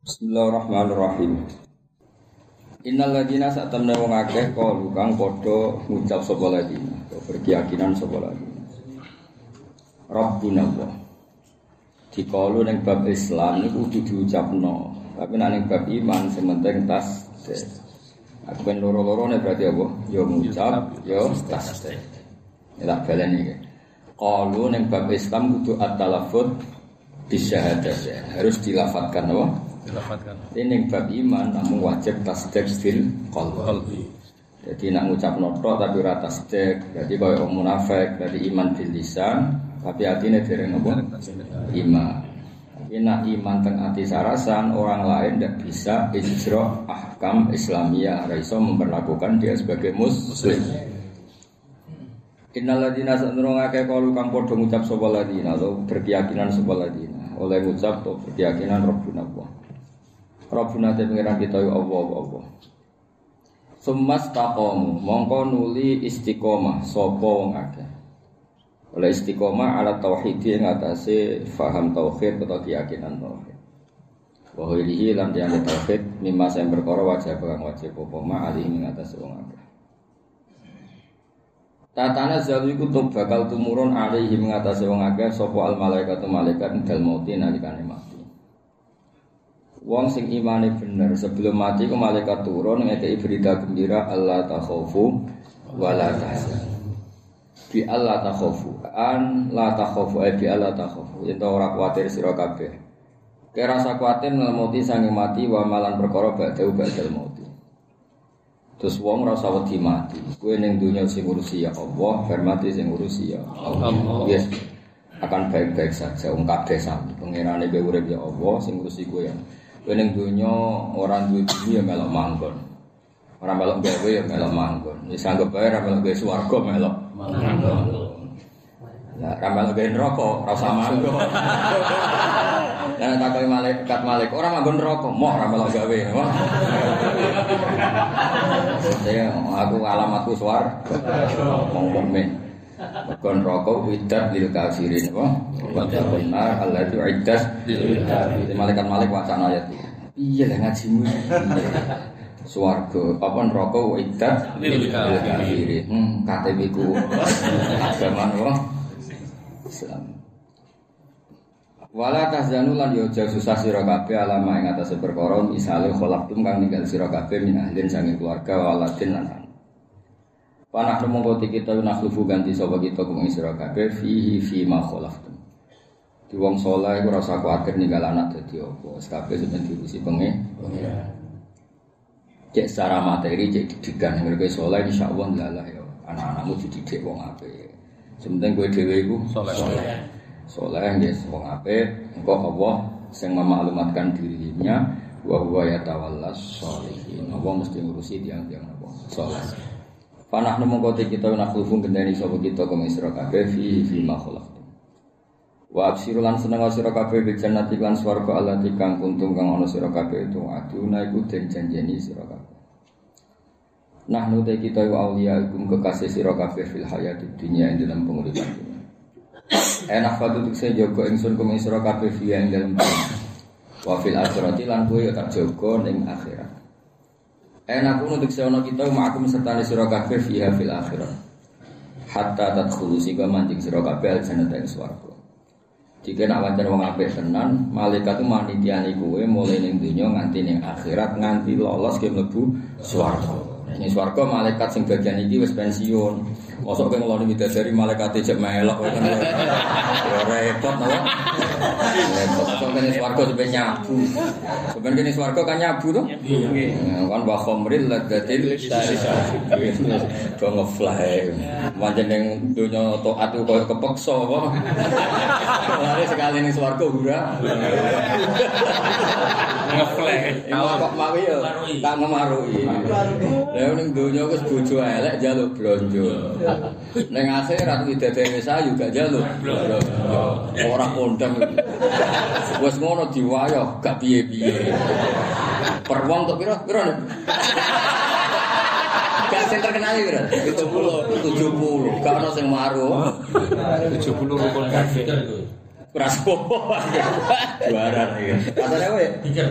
Bismillahirrahmanirrahim. Innal ladzina satamna wong akeh qalu kang padha ngucap sapa ladina, berkeyakinan sapa ladina. Rabbuna Allah. Dikalu ning bab Islam niku kudu diucapno, tapi nek ning bab iman sementing tasdid. Aku ben loro-lorone berarti apa? Ya ngucap, ya tasdid. Ya tak baleni iki. Qalu ning bab Islam kudu at-talaffuz bisyahadatain. Harus dilafadzkan apa? Ini bab iman namun wajib tasdek bil qalbi. Jadi nak ngucap noto tapi ora tasdek, berarti kaya munafik, berarti iman bil lisan tapi atine dereng apa? Iman. Tapi nak iman teng ati sarasan orang lain tidak bisa ijra ahkam Islamiyah, ora iso memperlakukan dia sebagai muslim. Innal ladzina sanurunga kaya kalu kang padha ngucap sapa ladina atau berkeyakinan sapa ladina oleh ngucap atau berkeyakinan Rabbuna Allah. Rabbuna te pengiran kita ya Allah. Summas taqamu mongko nuli istiqomah sapa wong akeh. Oleh istiqomah ala tauhid ing atase faham tauhid atau keyakinan tauhid. Wa hilihi lan tiyang tauhid mimma sing perkara wajib wajib apa ma ali ing atase wong akeh. Tatana zalu iku bakal tumurun alaihi ing atase wong akeh sapa al malaikatu malaikat dal mauti nalikane mati. Wong sing imane bener sebelum mati ku malaikat turun ngekeki berita gembira Allah takhafu wa la tahzan. Bi Allah takhafu an la takhafu bi Allah takhafu yen ora kuwatir sira kabeh. Kira rasa kuwatir mati sange mati wa malan perkara badhe badal mati. Terus wong rasa wedi mati. Kowe ning donya sing ngurusi ya Allah, bar mati sing ngurusi ya Allah. Yes. Akan baik-baik saja wong kabeh sami. Pengenane kowe urip ya Allah sing ngurusi kowe ya. Ning dunya ora duwe dunya ya melok manggon. Ora melok gawe ya melok manggon. Wis anggap bae ora melok gawe swarga melok manggon. Lah ora melok gawe neraka ora usah manggon. Lah takoki malaikat ora manggon neraka, moh ora melok gawe. Saya aku alamatku swarga. Monggo men. Kon rokok widat lil kafirin apa? Wa benar Allah itu iddas lil kafirin. Malaikat wacana ayat iki. Iya lah ngajimu. Swarga apa neraka widat lil kafirin. KTP ku agama apa? Islam. Wala tahzanu lan yo aja susah sira kabeh alama ing atase perkara misale kholaqtum kang ninggal sira kabeh min ahlin sange keluarga waladin lan panah mongko kita nakhlufu ganti sapa kita kung sira kabeh fihi fi ma khalaqtum. Di wong saleh iku rasa kuwatir ninggal anak dadi apa. Wis kabeh sampeyan diurusi pengen. Cek secara materi cek didikan mergo saleh insyaallah lalah ya. Anak-anakmu dididik wong apik. Sementing kowe dhewe iku saleh. Saleh nggih wong apik, engko Allah sing memaklumatkan dirinya wa huwa yatawallas sholihin. Allah mesti ngurusi tiang-tiang apa saleh. Panah mongko kita nakhlufu gendeni sapa kita kang sira kabeh fi ma khalaqtum. Wa absiru lan seneng sira kabeh bil jannati lan swarga allati kang kuntum kang ana sira kabeh itu aduna iku den janjeni sira kabeh. Nahnu te kita auliya ikum kekasih sira kabeh fil hayatid dunya ing dalam penguripan dunya. Enak fatu tukse jaga ingsun kang sira kabeh fi ing dalam dunya. Wa fil akhirati lan kowe tak jaga ning akhirat. Enak untuk seorang kita ma'akum serta sira kabeh fiha fil akhirah. Hatta tadkhulu sika manjing sira kabeh al-jannata ing swarga. Jika nak wancen wong apik tenan, malaikat manitiani kowe mulai ning donya nganti ning akhirat nganti lolos ke mlebu swarga. Ning swarga malaikat sing bagian iki wis pensiun. Mosok kowe ngeloni midasari malaikat jek melok kan. Ya repot napa? Repot kok kene swarga sampe nyabu. Sampeyan kene swarga kan nyabu to? Nggih. Kan wa khamril ladatil syarif. Do ngefly. Pancen ning donya taat koyo kepeksa apa. Lare sekali ning swarga ora. Ngefly. Kok mawi ya tak ngemaruhi. Lah ning donya wis bojo elek njaluk blonjo. Ning akhirat widadari sayu gak njaluk blonjo. Ora kondang. Wes ngono diwayo gak piye-piye. Per wong tok pira-pira. Gak sing terkenal iki, Bro. 70. Gak ono sing maru. 70 rukun kafir. Praso. Juara iki. Katane kowe. Pikir.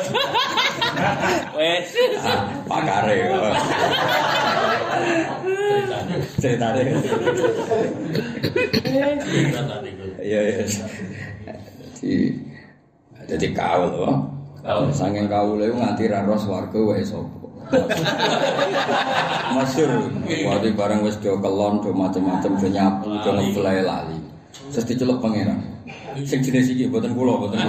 Wes. Pakare. Ceritane. Iya. Jadi kaul loh. Kaul saking kaul itu nganti ra ros warga wae sapa. Masyhur waktu barang wis do kelon do macam-macam do nyapu do ngeblay lali. Terus diceluk pangeran. Sing jenis iki mboten kula mboten.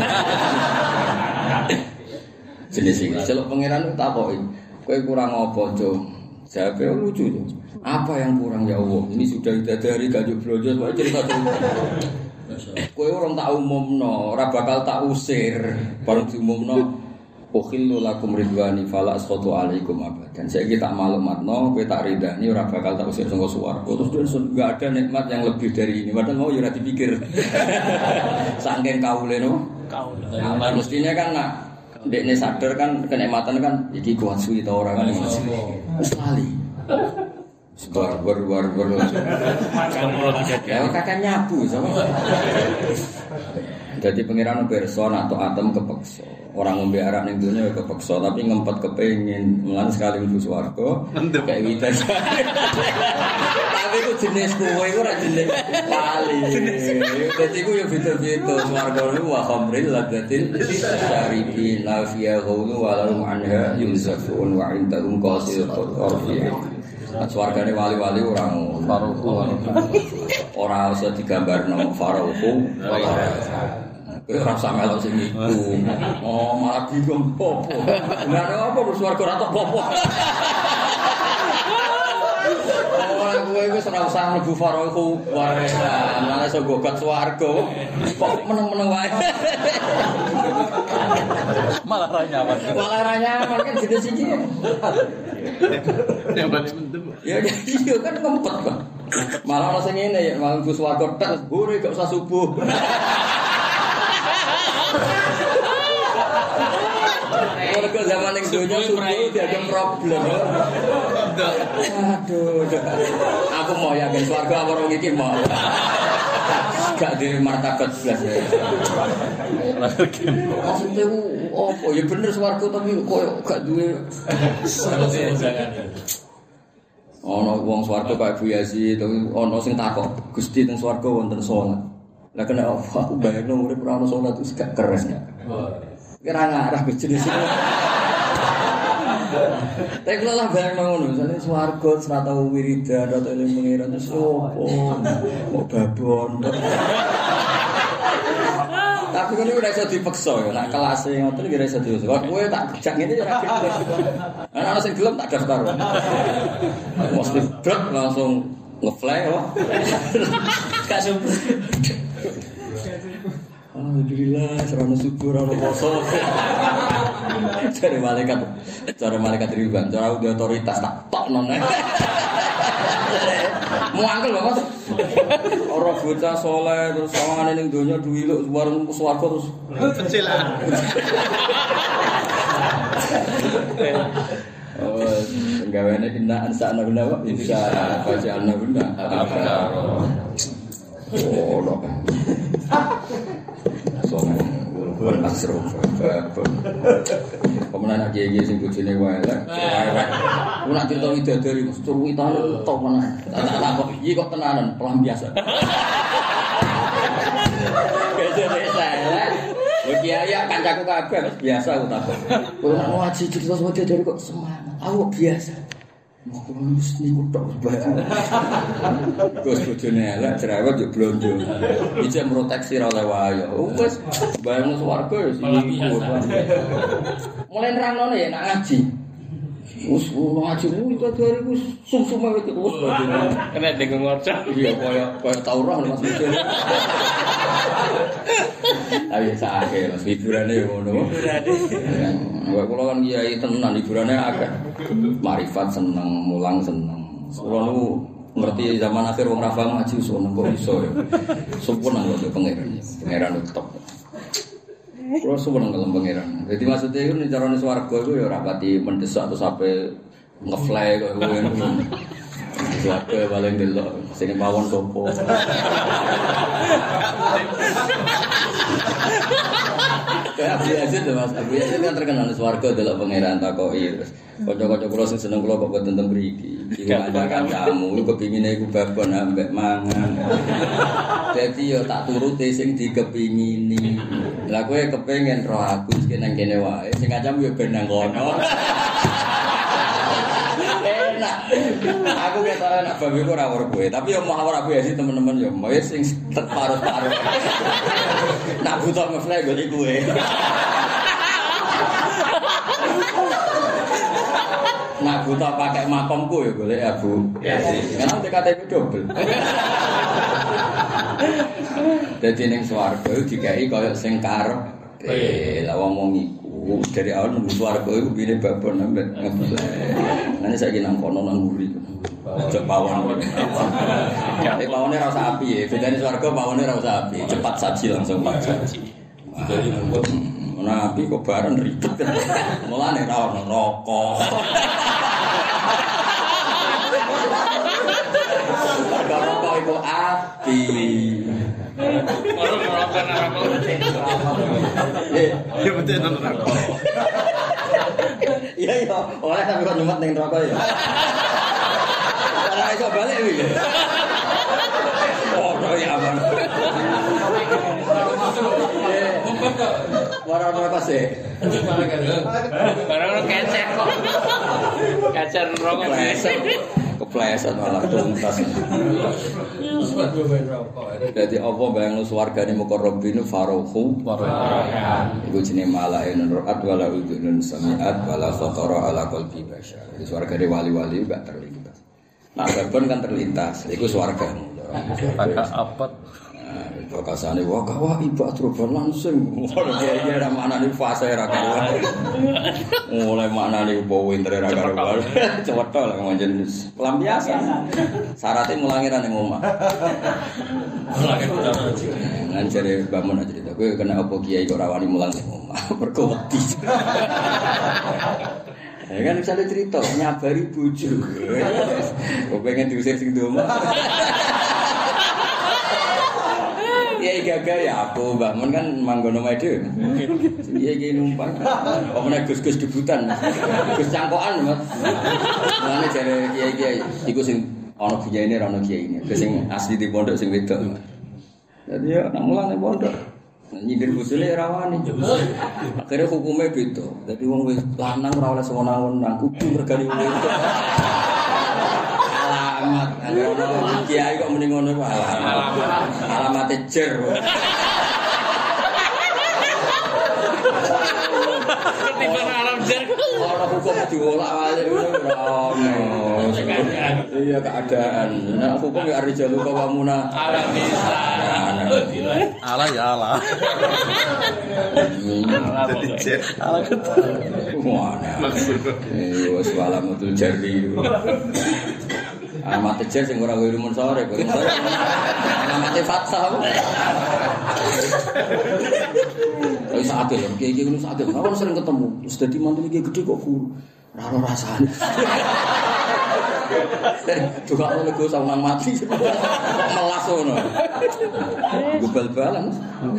Jenis iki celuk pangeran takoki. Kowe kurang apa, Cuk? Jawabe lucu tuh. Apa yang kurang ya Allah? Ini sudah dari gajuk blonjo wae cerita terus. Kowe orang tak umumno, ora bakal tak usir. Bareng diumumno, "Ukhillu lakum ridwani fala askhatu alaikum abadan." Saiki tak maklumatno, kowe tak ridani ora bakal tak usir saka swarga. Terus enggak ada nikmat yang lebih dari ini. Padahal mau ya ora dipikir. Saking kaule no. Kaule. Nah, mestinya kan nak ndekne sadar kan kenikmatan kan iki kuat suwi ta ora kan. Wis lali. Bar. Ya kakek nyabu sama. Jadi pengiran person atau atom kepeksa. Orang ngombe arak ning dunya kepeksa tapi ngempet kepengin mulan sekali mlebu swarga kayak witan. Tapi ku jenis kowe iku ora jenis wali. Dadi ku yo beda-beda swarga niku wa khamril ladatin syaribin la fiya ghawlu wa lahum anha yunzafun wa indahum qasirul qarfi. Swargane wali-wali orang faruhu ora usah digambarno faruhu ora sampe lho sing iku oh malah bingung opo lha apa swarga ora tok opo ora kowe wis ora usah mlebu faruhu wae malah iso gogat swarga kok meneng-meneng wae Malah ra nyaman kan jenis iki ya iya kan ngempet kok malah ora sing ngene ya malah mlebu swarga tek gure gak usah subuh. Kalau zaman yang dunia subuh dianggap problem. Aduh, aku mau yakin swarga apa orang iki mau. Gak di martabat belas ya. Maksudnya apa ya bener swarga tapi koyo gak duwe. Ono wong swarga kaya Bu Yazid, ono sing takok, Gusti teng swarga wonten salat. Lah kena aku bayangno urip ora ono salat itu gak keres ya. Kira ngarah ke jenis itu. Tapi kalau lah bayangno ngono, misale swarga ora tau wiridan atau eling pengiran terus opo? Mau babon. Tapi kan ora iso dipeksa ya, nek kelase ngoten iki ora iso diusul. Kowe tak jak ngene ya ora gelem. Ana sing gelem tak daftar. Mesti brek langsung ngefly kok. Gak subuh. Alhamdulillah, serana syukur ana poso. Cara malaikat Ridwan, cara otoritas tak tokno. Muangkel lho Mas. Ora bocah saleh terus sawangane ning donya duwiluk warung swarga terus kecilan. Oh, gaweane kena ansana guna wae bisa baca ana guna. Oh, lho. Soalnya bukan asrof, kemudian aja sing bojone wae lah, aku nak cerita widadari mas, cerita tok mana, tak kok iki kok tenanan, pelampiasan. Biasa lah, kiai kancaku kabeh biasa aku takut. Kowe nak ngaji cerita widadari kok semangat, aku biasa. Mau lulus niku tok baju. Gus bojone elek cerewet yo blonjo. Iki proteksi ra oleh wae. Wes bayangno swarga yo sing mulai nerangno ya nak ngaji. Wes ngaji itu dari wis sum-sum wae wis kena dengung ngocok. Iya kaya taurah Mas bojone. Ayo sakake Mas hiburane yo ngono. Wah kula kan kiai tenan hiburane akeh. Marifat seneng, mulang seneng. Kula niku ngerti zaman akhir wong ra paham ngaji seneng kok iso ya. Sempurna kok pangeran. Pangeran top. Kula seneng kalem pangeran. Dadi maksudnya iku carane swarga iku ya ora pati mendesak atau sampai ngefly kok ngono. Swarga paling delok sing mawon sopo. Kayak Abu Yazid lho Mas. Abu Yazid kan terkenal swarga delok pangeran takoki terus kanca-kanca kula sing seneng kula kok boten teng mriki. Iki kancakan kamu kepingine iku babon ambek mangan. Dadi yo tak turuti sing dikepingini. Lah kowe kepengin roh aku iki nang kene wae. Sing ngacam yo ben nang kono. Enak. Aku ketara nak babi ku ora kowe, tapi yo mau ora kowe sih teman-teman yo. Wis sing paruh-paruh. Nak butuh ngefly golek kowe. Nak butuh pakai makomku ya golek Abu. Karena KTP double. Dadi ning swarga dikai koyo sing karep. Lah wong iku dari awal nang swarga iku pine babon ambek ngeblek. Nane saiki nang kono nang mburi. Aja pawon. Pawone ora usah api ya. Bedane swarga pawone ora usah api. Cepat saji langsung saji. Jadi nabi kok bareng ribet. Mulane ra ono rokok. Rokok iku api. Rokok narako. Ya betul rokok. Iya iya, oleh sampe kok nyumet ning rokok ya. Ora iso balik iki. Oh, ya aman. Warna apa sih? Barang kecek kok. Kacer rokok biasa. Kepleset malah tuntas. Jadi apa bayang swargane mukarrabin farohu iku jenenge malaikun ru'at wala udunun sami'at wala khatara ala qalbi basyar. Swargane wali-wali gak terlintas. Nah, babon kan terlintas, iku swargane. Agak apet. Bakasane wah kawah ibak troban langsung. Iya ra maknane fase ra karuan. Mulai maknane opo winter ra karuan. Cewetho lah manjen pelampiasan. Syaratnya mulangi ra ning omah. Nang jare bangun aja cerita kowe kena opo kiai kok ra wani mulang ning omah. Mergo wedi. Ya kan misalnya cerita nyabari bojo. Kok pengen diusir sing di omah. Ya gagal ya aku bangun kan manggono mede. Iya iki numpang. Kok menek gus-gus debutan. Gus cangkokan, Mas. Mane jare kiai-kiai iku sing ana kiyaine ra ana kiyaine. Sing asli di pondok sing wedok. Dadi ya nang mulane pondok. Nyindir bojone ra wani. Akhire hukume beda. Dadi wong wis lanang ora oleh sewenang-wenang kudu regani wong wedok. Alamat kiai kok mending ngono wae alamat jer Ketiban alam jer ora hukum diolak-walik ngono iya keadaan nek hukum ya arijalu kawamuna alam bisa ala ya ala ala maksud wis alamatul jari alamat jer sing ora wirumun sore alamat fatsah wis ade lho iki ngono ade kawon sering ketemu wis dadi mantu iki gede kok guru ora ono rasane juga oleh gue sama mati melas ngono gubal-balan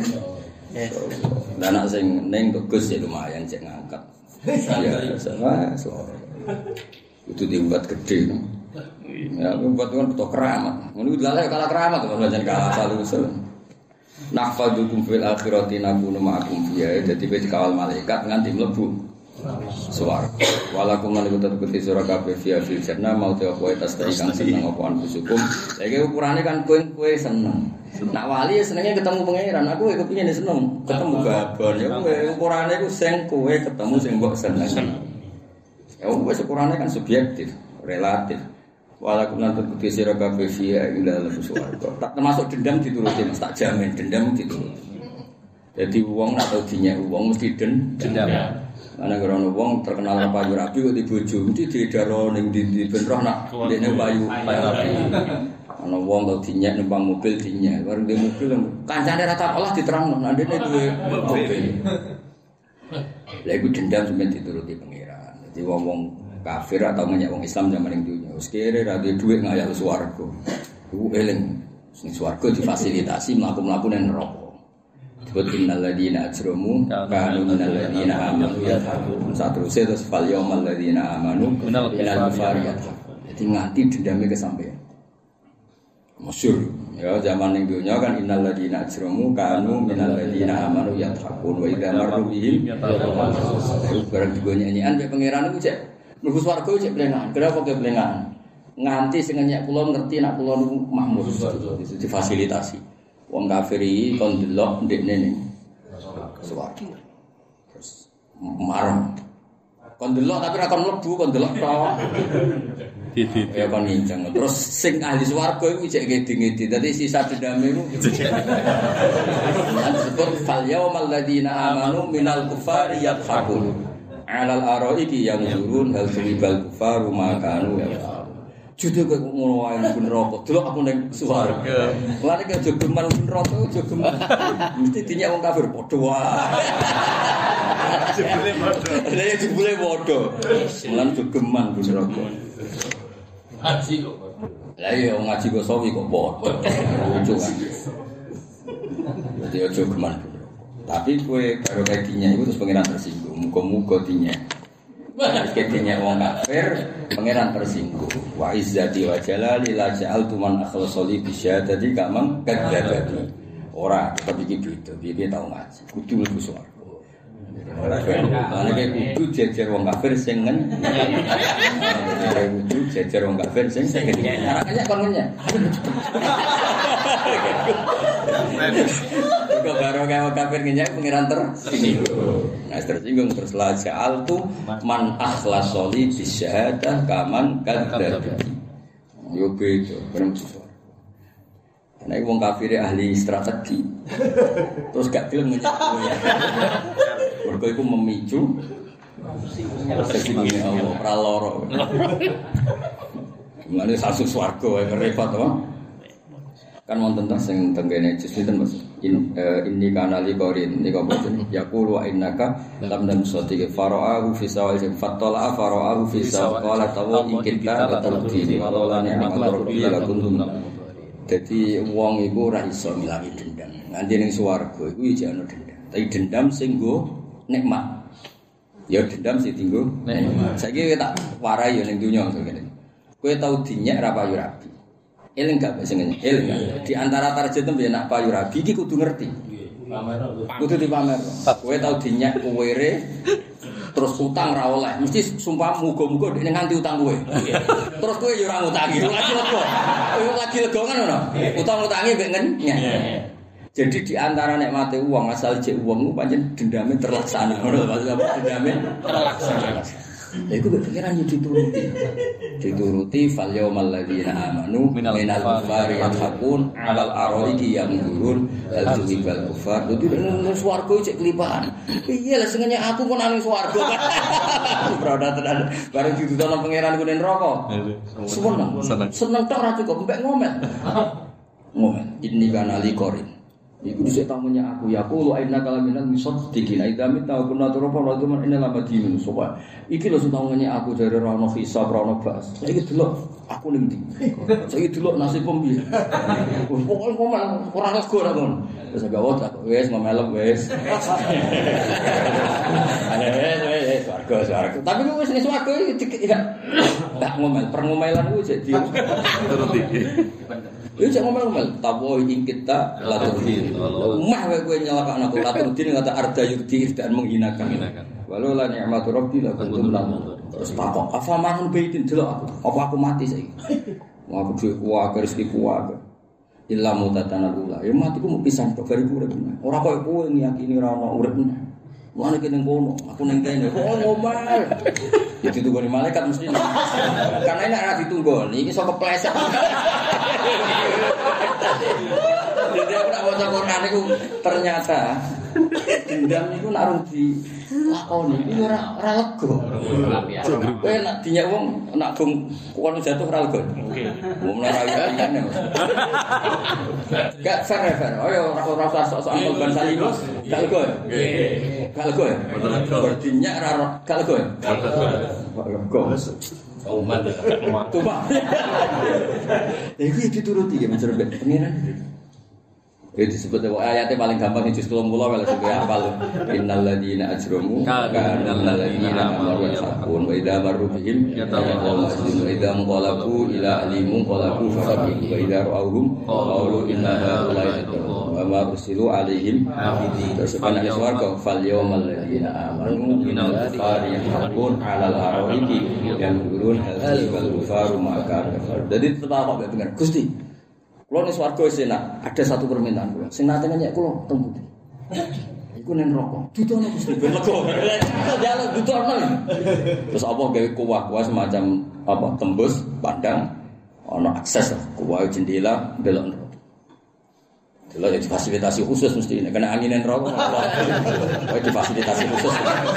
dan anak sing ning Gus ya lumayan cek ngangkat ya sama itu dibuat gede ya buat kan betul keramat ngono lha kalah keramat kok jangan kalah salusul nahfadukum fil akhirati nakunu ma'akum fiha dadi wis kawal malaikat nganti mlebu swarga walakum lan tetep peti sura kabeh fiha fil jannah mau te kowe tas kang seneng apa anfusukum iki ukurane kan kowe seneng nak wali senenge ketemu pangeran aku kepengin seneng ketemu babon ya ukurane ku sing kowe ketemu sing mbok seneng ya wis ukurane kan subjektif relatif walakum lan tetep sira kabeh fiha ila swarga tak termasuk dendam dituruti Mas tak jamin dendam dituruti jadi wong nak tau dinyek wong mesti dendam ana grono wong terkenal payu rapi kok dibojo mesti diedaro ning ndi ben roh nak ndekne payu rapi ana wong tau dinyek numpang mobil dinyek bareng di mobil kancane ra tak olah diterangno nek ndekne duwe mobil lha iku dendam sampeyan dituruti pangeran dadi wong-wong kafir atau ngenyek wong Islam zaman ning dunya. Wis kere ra duwe dhuwit ngayal swarga. Iku eling sing swarga difasilitasi mlaku-mlaku nang neraka. Disebut innal ladzina ajramu kanu minal ladzina amanu yadhakun. Saterusé terus fal yaumal ladzina amanu minal kufari yadhakun. Jadi nganti dendame kesampean. Masyhur ya zaman ning dunya kan innal ladzina ajramu kanu minal ladzina amanu yadhakun wa idza marru bihim yadhakun. Barang digonyak-nyanyian mek pangeran iku cek mlebu swarga cek plengan. Kenapa ke plengan? Nganti sing nyek kula ngerti nek kula niku makmur difasilitasi. Wong kafir iki kon delok ndekne ning swarga. Terus marem. Kon delok tapi ra kon mlebu, kon delok tok. Ya kon nginceng. Terus sing ahli swarga iku cek ngedi-ngedi. Dadi sisa dendame iku. Disebut fal yaumal ladzina amanu minal kufari yadhakun. Alal araiki yang turun hal subal kufaru makanu ya. Judul kok ngono wae nang neraka. Delok aku ning swarga. Lane ke jogeman neraka jogeman. Mesti dinyak wong kafir padha wae. Jebule padha. Lah jebule padha. Mulan jogeman neraka. Ngaji kok. Lah iya ngaji kok sawi kok padha. Lucu kan. Dadi aja geman. Tapi kowe karo kakinya iku terus pengiran tersinggung. Muga-muga dinyak. Ketinya wong kafir pangeran tersinggung. Wa izzati wa jalali la ja'altu man akhlasali bi syahadati kamang kadzdzabati. Ora tetep iki beda. Piye tau ngaji. Kudu mlebu swarga. Ora kudu jejer wong kafir sing kudu jejer wong kafir sing ngenyek kon ngenyek. Kok baru kayak kafir ngenyek pangeran tersinggung. Nah tersinggung terus la ja'altu man akhlasali bi syahadah kaman kadzdzabati. Yo beda, bener susah. Karena wong kafir ahli strategi. Terus gak gelem ngenyek. Mergo iku memicu sesungguhnya Allah praloro. Mane sasu swarga wae repot to. Kan wonten teng sing tenggene jus pinten Mas. Inni kana li qarin niku apa jenenge? Yaqulu wa innaka lam namsati fara'ahu fi sawal fatala fara'ahu fi sawal qala tawu ikita batalti walau la ni'matul rabbi la kuntum. Dadi wong iku ora iso ngilangi dendam. Nganti ning swarga iku iki ana dendam. Tapi dendam sing nggo nikmat. Ya dendam sing dienggo nikmat. Saiki tak warai ya ning donya ngene. Kowe tau dinyak ra payu rabi. Eling gak sing ngene? Eling. Di antara target tembe nak payu rabi iki kudu ngerti. Kudu dipamer. Kowe tau dinyak kuwere terus utang ra oleh. Mesti sumpah muga-muga dekne nganti utang kowe. Terus kowe ya ora ngutangi. Lagi lega. Kowe lagi lega kan ngono. Utang-utange mbek ngenyek. Jadi di antara nikmate uang asal jek uang ku pancen dendame terlaksana. Ngono maksud dendame terlaksana. Lha iku pikiran yo dituruti. Dituruti fal yaumal ladzina amanu minal kufari yadhakun alal araiki yanzurun hal tuwibal kufar. Dadi nang swarga cek kelipaan. Piye lah sing aku kok nang swarga. Berada tenan bareng ditutono pangeran ku ning neraka. Seneng tok ra cukup mbek ngomel. Ngomel inni kana li qarin. Iku dhisik tamunya aku ya aku lu aina kalaminal misaddiqina idamit ta kunna turapa itu men ina labadin sopa iki lho sing tamunya aku dari rono hisab rono bas saiki delok aku ning ndi saiki delok nasib piye pokoke ngomong ora lega ora kon wis gak wae wis ngomelem wis wis swarga tapi wis ning swarga iki gak ngomel perngomelan ku jadi turuti. Yo cek ngomel-ngomel, tapo ing kita laturdi. Mah kowe nyelakakno laturdi ngata arda yurdi dan menghinakan. Walau la ni'matu rabbi la kuntum lahu. Terus takok, "Afa manun baitin delok aku. Apa aku mati saiki?" Aku duwe kuwatir rezekiku wae. Illa mutatana ula. Ya matiku mau pisan tok bariku urip. Ora koyo kowe ngiyakini ora ono urip. Mulane kene ngono, aku ning kene. Oh ngomel. Ya ditunggu malaikat mesti. Karena nek ora ditunggu, iki iso kepleset. Jadi aku nak baca Quran itu ternyata dendam itu nak di lakoni itu ora lega. Kowe nak dinyak wong nak bung kono jatuh ora lega. Wong ora ayane. Gak fair. Ayo ora usah sok-sokan korban salino. Gak lega. Gak lega. Berdinyak ora gak lega. Gak lega. Umat. Coba. Iku dituruti ya mencerbe pengiran. Itu disebut ayatnya paling gampang juz 30 kalau sudah hafal. Innal ladzina ajramu kana alladzina amaru yasaqun wa idza marru bihim yatawallawna wa idza munqalabu ila alimum qalabu faqih wa idza ra'awhum qalu inna haula'i wa ma ursilu alaihim terus ana iswarga fal yawmal ladzina amanu minal kufari yahqun 'alal araiki yanzurun hal wal kufaru ma kana. Jadi tetap apa bener Gusti. Kulo ning swarga wis enak, ada satu permintaan kulo. Sing nate nyek kulo teng pundi? Iku ning neraka. Dutono Gusti ben lega. Jaluk dutono. Terus apa gawe kuwah-kuwah semacam apa tembus pandang ana akses kuwah jendela delok neraka. Delok difasilitasi khusus mesti nek kena angin neraka. Kowe difasilitasi khusus.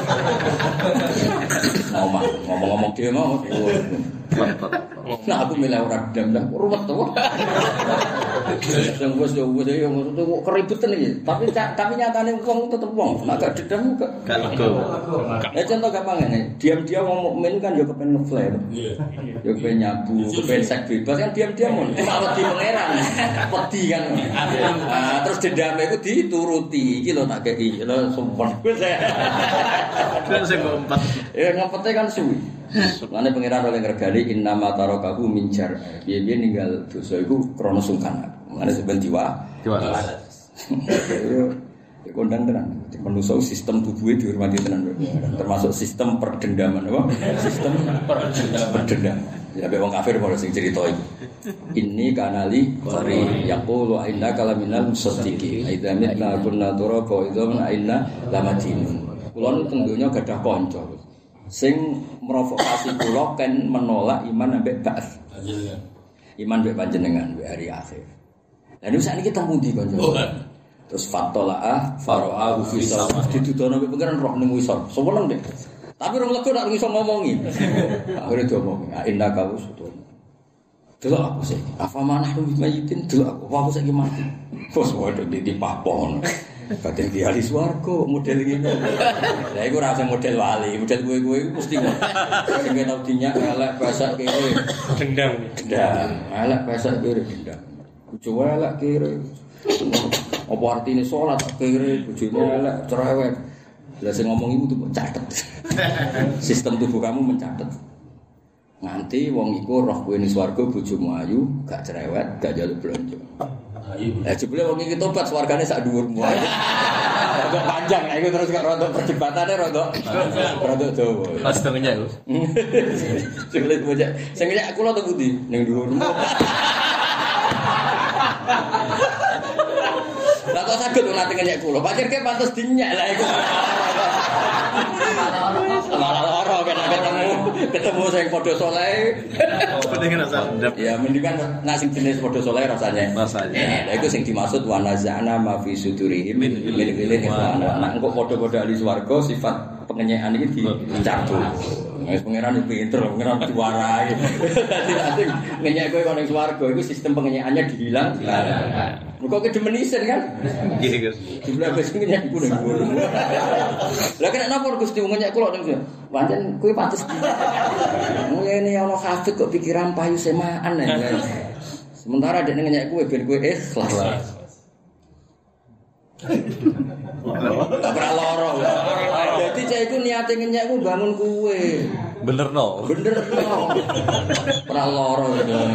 Ngomong-ngomong dhewe mau. Nah aku milih ora dendam ruwet to. Sing wis yo kok keributan iki. Tapi nyatane wong tetep wong, nek gak dendam gak lega. Contoh gampang ngene, diam-diam wong mukmin kan yo kepen ngeflare. Yo kepen nyabu, kepen seks bebas kan diam-diam mon. Cuma wedi pangeran. Wedi kan. Terus dendam iku dituruti. Iki lho tak kei, lho sumpah. Wis ya. Kan sing ngompat. Ya ngempete kan suwi. Lane pangeran oleh ngregani innama tarakahu min jar. Piye-piye ninggal dosa iku krana sungkan. Mane sampeyan jiwa. Ya kondang tenan. Manusa sistem tubuhe dihormati tenan. Termasuk sistem perdendaman apa? Sistem perdendaman. Ya mek wong kafir malah sing crita iku. Inni kanali qari yaqulu inna kalaminal musaddiqin. Aidza mitna kunna turaba idza inna lamadinun. Kula nu teng donya gadah kanca. Sing merovokasi kula kan menolak iman ambek ba'ats. Iman mbek panjenengan mbek hari akhir. Lah niku sakniki teng pundi kanca? Terus fatola'ah fara'ahu fi sawah ditudono mbek pengiran roh ning wisor. Seneng deh. Tapi rong lega nek iso ngomongi. Akhire diomongi, inna kawu sudun. Delok aku sih. Apa manah mayitin delok aku saiki mati. Bos waduh dipapon. Kadang di ahli swarga model ngene. Lah iku ora sing model wali, model kowe-kowe iku mesti ngono. Sing tau dinyak elek pasak kene. Dendam. Elek pasak kene dendam. Bojo elek kene. Apa artine salat kene bojone elek cerewet. Lah sing ngomong iku tuh catet. Sistem tubuh kamu mencatat. Nganti wong iku roh kowe ning swarga bojomu ayu, gak cerewet, gak njaluk blonjo. Lah jebule wong iki tobat swargane sak dhuwurmu. Rada panjang iku terus kok rada perdebatane rada dawa. Pas tengenya iku. Jebule bocah sing nyek kula to pundi ning dhuwurmu. Lah kok saged ora nyek kula. Pakirke pantes dinyak lah iku. Malah lara kan ketemu sing padha saleh. Pengen rasa dendam. Ya mendingan nek sing jenis padha saleh rasane. Lah iku sing dimaksud wa nazana ma fi sudurihim min ilmin ikhwana. Nek engko padha-padha ahli swarga sifat pengenyekan iki dicabut. Wis pangeran pinter, pangeran diwarai. Dadi ngenyek kowe ning swarga iku sistem pengenyekannya dihilang. Kok kedemenisen kan? Nggih, Gus. Jumlah wis ngenyek iku ning ngono. Lah kena napa Gusti ngenyek kula ning pancen kowe pantes. Ngene ana hafid kok pikiran payu semaan ya. Sementara dekne ngenyek kowe ben kowe ikhlas. Ora loro. Dadi cah iku niate ngenyek ku bangun kowe. Benerno. Ora loro.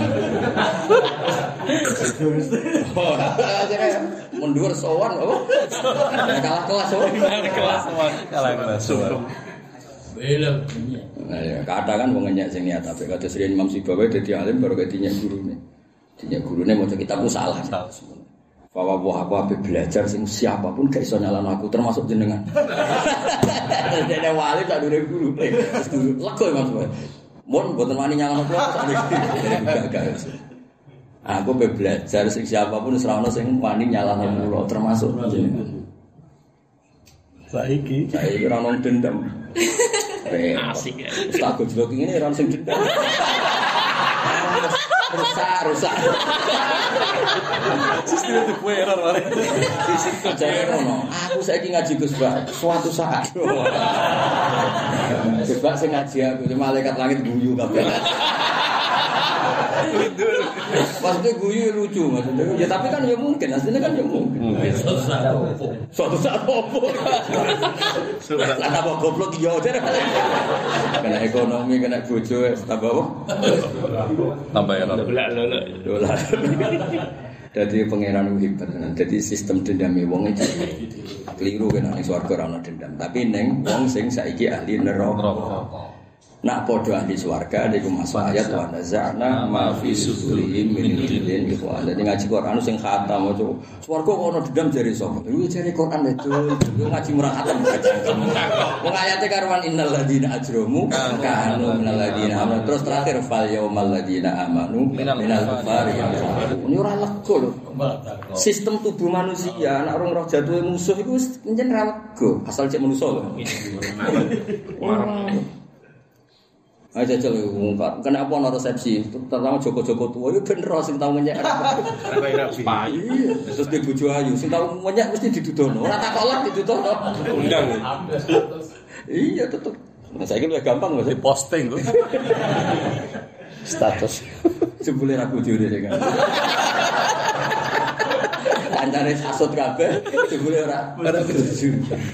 Mundur sowan apa? Kalah kelas oh. Kalah kelas sowan. Belum. Nah ya, kadang kan wong ngenyek sing niat apik kados Riyen Imam Sibawi dadi alim baru ketinya gurune. Dinya gurune maca kitabku salah. Bahwa aku habis belajar sing siapapun gak iso nyalano aku termasuk jenengan. Dene wali tak dure guru. Lego Mas. Mun mboten wani nyalano kula gak. Aku belajar sing siapapun ora ono sing wani nyalano kula termasuk jenengan. Saiki ora ono dendam. Asik ya. Tak gojlok ngene ora sing dendam. Rusak. sistem itu kue error mari. Fisik jare ngono. Aku saiki ngaji Gus Bak suatu saat. Gus Bak sing ngaji aku malaikat langit guyu kabeh. Maksudnya guyu lucu maksudnya. Ya tapi kan ya mungkin, aslinya kan ya mungkin. Suatu saat apa? Lah apa goblok ya jare. Kena ekonomi, kena bojo tambah apa? Tambah error. Dolar. Jadi pangeran hebat. Jadi sistem dendame wong iki keliru kan ning swarga ora ono dendam. Tapi ning wong sing saiki ahli neraka. Nak podo ahli swarga niku masuk ayat wa nazana ma fi sudurihim min ghillin ikhwan. Dadi ngaji Quran sing khatam maca swarga kok ono dendam jare sapa? Iku jare Quran itu ngaji murah khatam cangkem. Wong ayate karuan innal ladzina ajramu kanu minal ladzina amanu terus terakhir fal yaumal ladzina amanu minal kufari. Ini ora lega lho. Sistem tubuh manusia nek orang roh jatuhe musuh iku wis pancen ra lega asal cek manusa lho. Ayo jajal ngungkap. Kenapa ana resepsi? Terutama Joko-Joko tua yo ben ro sing tau menyek. Terus di bojo ayu sing tau menyek mesti didudono. Ora tak kolak didudono. Undang. Iya tetep. Nah saiki luwih gampang Mas. Posting kok. Status. Jebule ra bojone sing kan. Kancane hasud kabeh, jebule ora bojo.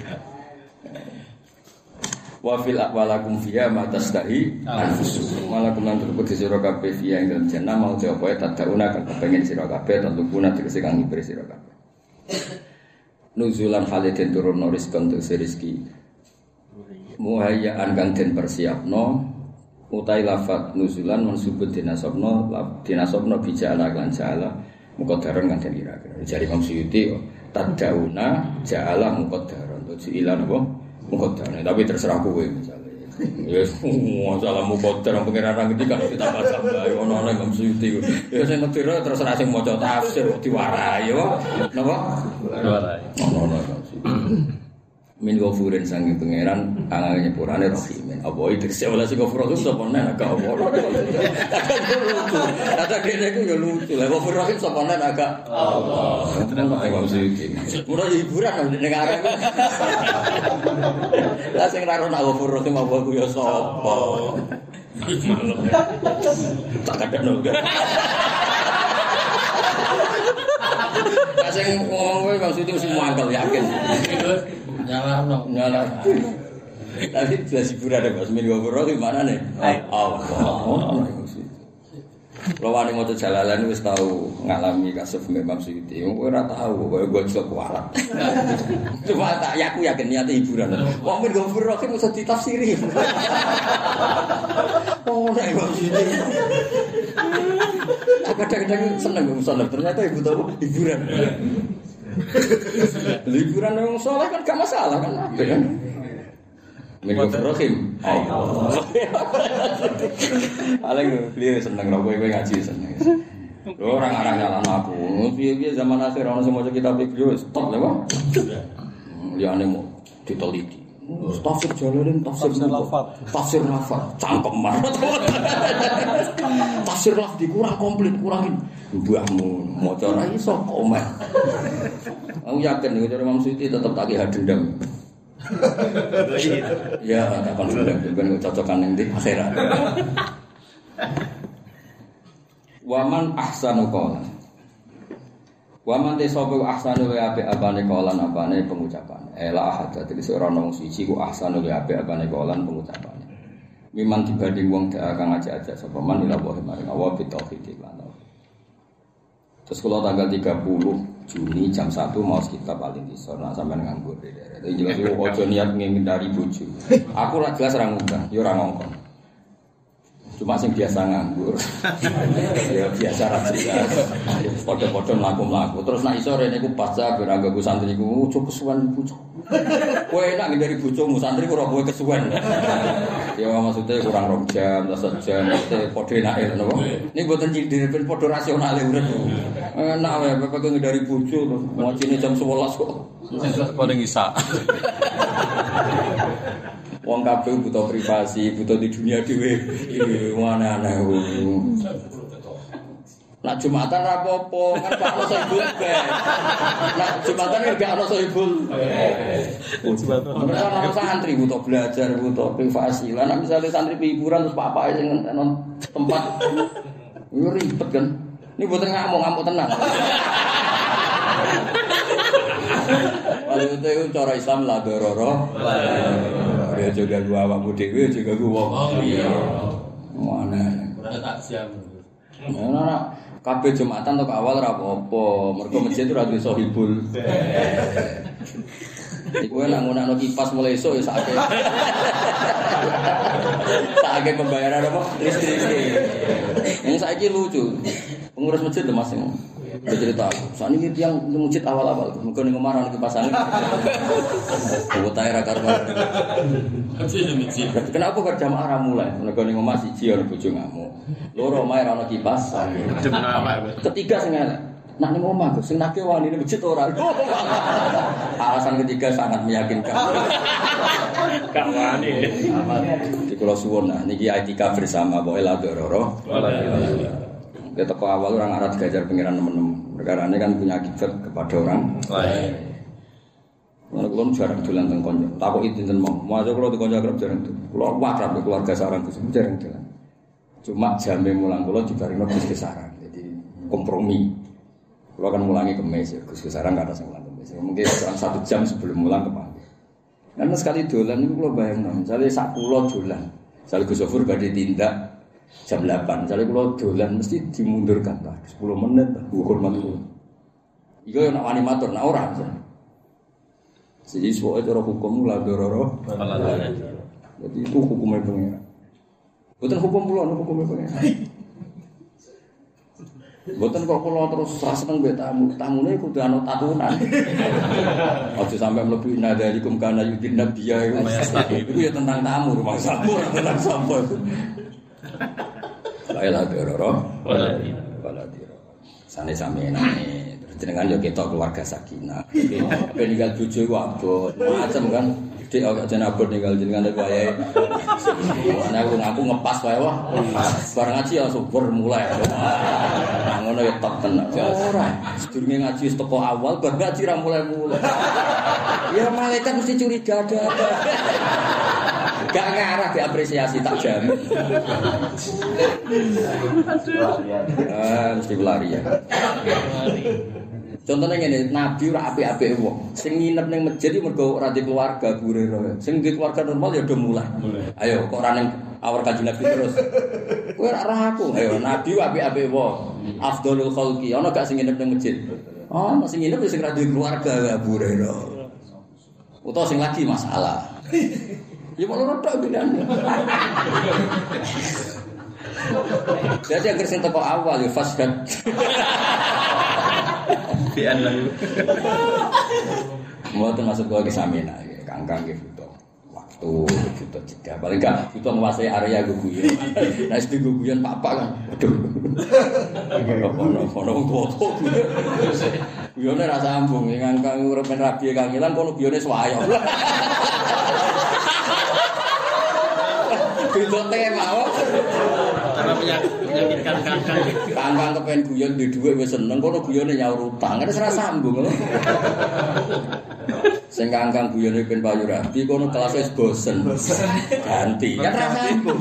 Wa fil aqwalakum fiha ma tastahi anfusukum malakum lan tulku sira kabeh fiha ing dalem jannah mau jawabe tadauna kan kepengin sira kabeh tentukuna tegese kang ngibri sira kabeh nuzulan haliden turun rizqan untuk rezeki muhayyaan kang den persiapno utai lafat nuzulan mansubun dinasabno bijala lan jala muqaddaran kang den kira-kira jari Imam Suyuti tadauna jala muqaddaran tujilan apa muqaddar, tapi terserah kowe misalnya. Ya masalah muqaddar pengiran ngerti kan ditambah tambah ono nang Suyuti. Ya sing ngerti terserah sing maca tafsir kok diwarai yo. Napa? Diwarai. Ono min ghafurin sange pangeran angane nyepurane rahimin apa iki sewala sing ghafur rahim sapa nek agak apa ada kene ku yo lucu lha ghafur rahim sapa nek agak Allah tenan kok Suyuti murah hiburan nek arek lah sing ra ono ghafur rahim apa ku yo sapa tak kadang sing ngomong kowe Bang Suyuti mesti mangkel yakin nyala. Tapi jelas hiburan ada Mas Min Gofuro gimana nih? Allah. Lawan yang mau jalalan wis tahu ngalami kasus Imam Suyuti. Kowe ora tahu kowe gojlok warak. Cuma tak aku yakin niate hiburan. Wong Min Gofuro ki mesti ditafsiri. Oh nek Imam Suyuti. Kadang-kadang seneng musola ternyata ibu tahu hiburan. Liburan yang soleh kan gak masalah kan? Min Rahim. Paling beliau seneng lah, gue ngaji seneng. Orang-orang nyala aku. Biar zaman akhir orang semua kita beliau stop lah, bang. Dia aneh mau diteliti. Tafsir jalanin, tafsir lafaz, cangkem banget. Tafsir lafaz dikurang komplit, kurangin. Mbahmu maca ra iso komen. Aku yakin nek Imam Suyuti tetep tak ki dendam. Ya, tak kon dendam ben cocokan ning ndi akhirat. Waman ahsanu qawlan. Waman te sapa ahsanu wa apik apane qawlan apane pengucapan. Ela ahad dadi ora ono siji ku ahsanu wa apik apane qawlan pengucapane. Miman dibanding wong kang ajak-ajak sapa man ila wa maring Allah bitauhid lan. Terus kalau tanggal 30 Juni jam 1 mau kita paling disor nak sampai nganggur deh. Jadi jelas ojo niat ngindari bojo. Aku ora jelas ora ngundang, ya ora ngongkon. Cuma sing biasa nganggur. Ya biasa ra jelas. Padha-padha mlaku-mlaku. Terus nak iso rene iku pas ben anggo santri iku ojo kesuwen bojo. Kowe enak ngindari bojomu santri ora kowe kesuwen. Ya maksudnya kurang 2 jam, 1 jam, padha enake napa. Ini mboten cindir ben padha rasionale urip. Enak wae bapak ngindari bojo terus ngocine jam 11 kok. Padha ngisa. Wong kabeh butuh privasi, butuh di dunia dhewe. Iki aneh-aneh. Nak Jumatan ra apa-apa, kan gak ono sohibul bes. Nak Jumatan kan gak ono sohibul. Mereka ono santri butuh belajar, butuh privasi. Lah nek misale santri hiburan terus papake sing nang tempat yo ribet kan. Ini boten ngamuk tenang. Kalau itu cara Islam la dororo. Ya juga gua awakmu dhewe juga gua wong liya. Mana? Ora tak jam. Nah, kabeh Jumatan tok awal ora apa-apa. Mergo masjid ora duwe sohibul. Iku nek ngono kipas mulai esuk ya sakake. Sakake pembayaran apa? Listrik. Yang saiki lucu. Pengurus masjid lho Mas sing cerita. Sakniki tiyang masjid awal-awal mergo ning omah ana kipas angin. Wotahe ra karuan. Kenapa kok jamaah ra mulai? Mergo ning omah siji ana bojo ngamuk. Loro omahe ra ana kipas angin. Ketiga sing elek. Nak ning omah Gus, sing nake wani ning masjid ora. Alasan ketiga sangat meyakinkan. Gak wani. Di kula suwun nah niki etika bersama pokoke la dororo. Ya teko awal orang Arab digajar pengiran teman-teman. Perkara ini kan punya akibat kepada orang lain. Mana kulon jarang dolan teng konco. Takoki dinten mau. Masuk kula di konco akrab jarang tuh. Kula wakrab keluarga sarang Gus jarang dolan. Cuma jame mulang kula dibarengno Gus Sarang. Jadi kompromi. Kula kan mulangi kemis ya Gus Sarang enggak ada sing mulang kemis. Mungkin kurang 1 jam sebelum mulang kepanggih. Karena sekali dolan niku kula bayangno, misale sak kula dolan. Misale Gus Sofur badhe tindak jam 8, misalnya kalau dolan mesti dimundurkan lah 10 menit lah, hormat dulu. Iku yang nak wani matur, nak orang misalnya. Jadi soalnya cara hukum lah dororo. Jadi itu hukumnya pengira. Bukan hukum pulau, hukumnya pengira. Bukan kok pulau terus seneng be tamunya kudu anu tatunan. Aja sampai mlebu nadalikum kana yudin nabiyya itu ya tentang tamu rumah sampur tentang sampur. Laila dororo, waladiro. Sane sampeyan terus jenengan yo ketok keluarga sakinah. Apa ninggal bojo wae macam kan. Dik kok jeneng abot ninggal jenengan wae. Ana aku ngepas wae wah. Bar ngaji ya subur mulai. Nah ngono ya tok tenan. Ora. Sedurunge ngaji wis teko awal bar ngaji ra mulai-mulai. Ya malaikat mesti curiga ada. Gak ngarah diapresiasi tak jamin. Mesti pelari ya. Contohnya ngene, Nabi ora apik-apik wong. Sing nginep ning masjid iki mergo ora di keluarga gure. Sing di keluarga normal ya udah mulai. Ayo kok ora ning awar Kanjeng Nabi terus. Kowe ora roh aku. Ayo Nabi apik-apik wong. Afdhalul khalqi. Ana gak sing nginep ning masjid? Oh, sing nginep sing ora di keluarga gure. Utawa sing lagi masalah. Ya malah rotok pilihan. Jadi agar sing teko awal ya fasdan. Pian lagi. Mboten masuk ke samina ya, kangkang nggih butuh waktu, butuh jeda. Paling gak butuh menguasai area guguyan. Nah, SD guguyan papa kan. Aduh. Ono tuwa-tuwa. Guyone ra sambung, kangkang urip men rabi kangilan kono guyone swayok. Itu tema karena menyakitkan kangkang kepen guyon di dhuwit wis seneng kono guyone nyaur utang kan ora sambung lho sing kangkang guyone ben payu rabi kono kelas wis bosen ganti kan ora sambung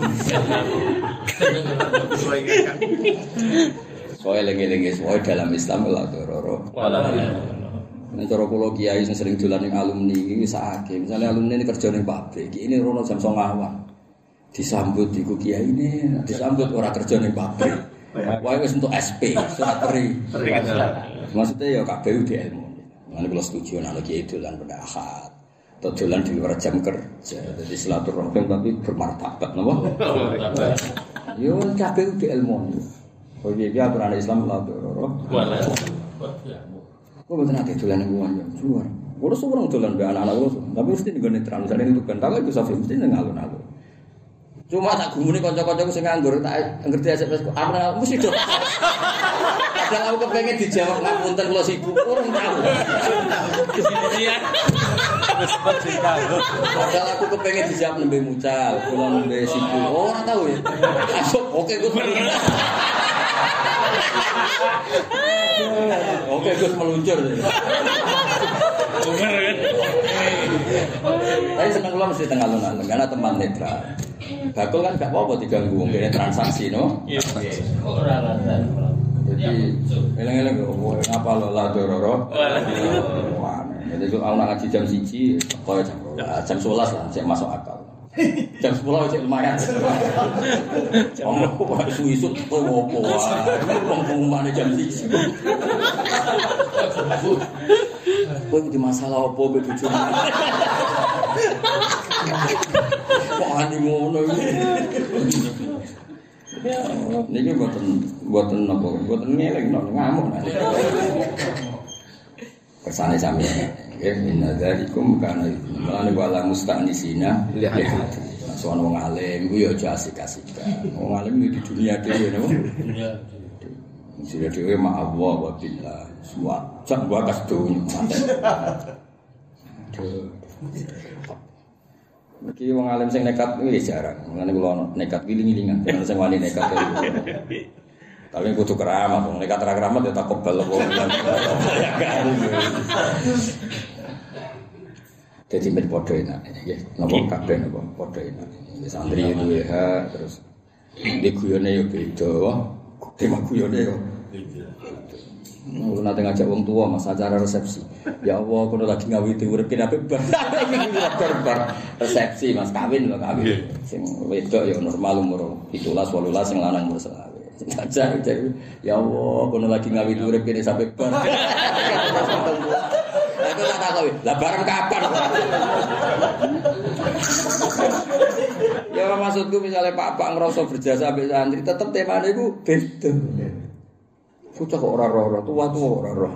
soal lengi-lengi soal dalam Islam la dororo nek cara kula kiai sing sering dolan ning alumni iki sakake misale alumni ini kerja ning pabrik ini rono jam 09.00 disambut iku kiai ini disambut ora kerja ning pabrik wae wis entuk SP surat peri maksudnya ya KPU di ilmu ngene kula setuju nek kiai dolan pada Ahad atau dolan di luar jam kerja jadi silaturahim tapi bermartabat napa yo KPU di ilmu oh iya aturan Islam la dororo kok boten ate dolan ning wong yo luar ora suwung dolan mbek anak-anak kula tapi mesti nggone terang jane itu kan tak iku Safi mesti nang alun-alun. Cuma tak gumune kanca-kancaku sing nganggur tak ngerti SMS aku mesti do. Padahal aku kepengin dijawab ngapunten kula sibuk urung tahu. Iya. sempat cinta. Padahal aku kepengen dijawab nembe mucal, kula nembe sipul. Oh, ora tahu ya. Masuk, oke Gus. Oke Gus meluncur. Bener kan? Tapi seneng kula mesti tengah alun-alun karena teman netral. Bakul kan gak apa-apa diganggu wong kene transaksi no. Iya. Ora alasan. Jadi eleng-eleng kok ngapa lo la dororo. Wah. Jadi kalau nak ngaji jam 1 koyo jam 11 lah sik masuk akal. Jam 10 sik lumayan. Jam isu-isu koyo opo wae. Pengumuman jam 1. Kowe di masalah opo be bojomu? Kok ati ngono iki? Ya, niki mboten napa, mboten ngeleng ngamuk. Kersane sami nggih minna dzalikum kana lan wala musta'nisina lihat. Soal wong alim ku ya aja asik-asikan. Wong alim di dunia dhewe napa? Dunia. Sira dhewe ma Allah wa billah. Semua sak bakas dunya. Iki wong alim sing nekat wis jarang. Mulane kula nekat giling-gilingan, ana sing wani nekat. Tapi kudu keramat, wong nekat ra keramat ya tak kebal wong. Dadi men padha enak nggih. Napa kabeh napa padha enak. Wis santri duwe hak terus diguyone yo beda. Tema guyone yo beda. Nate ngajak wong tua mas acara resepsi. Ya Allah, kono lagi ngawiti urip kene apik bar. Resepsi mas kawin lho kawin. Sing wedok ya normal umur 17 18 sing lanang umur 20. Sing ajar ya Allah, kono lagi ngawiti urip kene sampe bar. Aku tak takoki, lah bareng kapan? Ya maksudku misalnya Pak ngerasa berjasa ambek santri tetep temane iku beda. Bocah kok ora roh, tua-tua ora roh.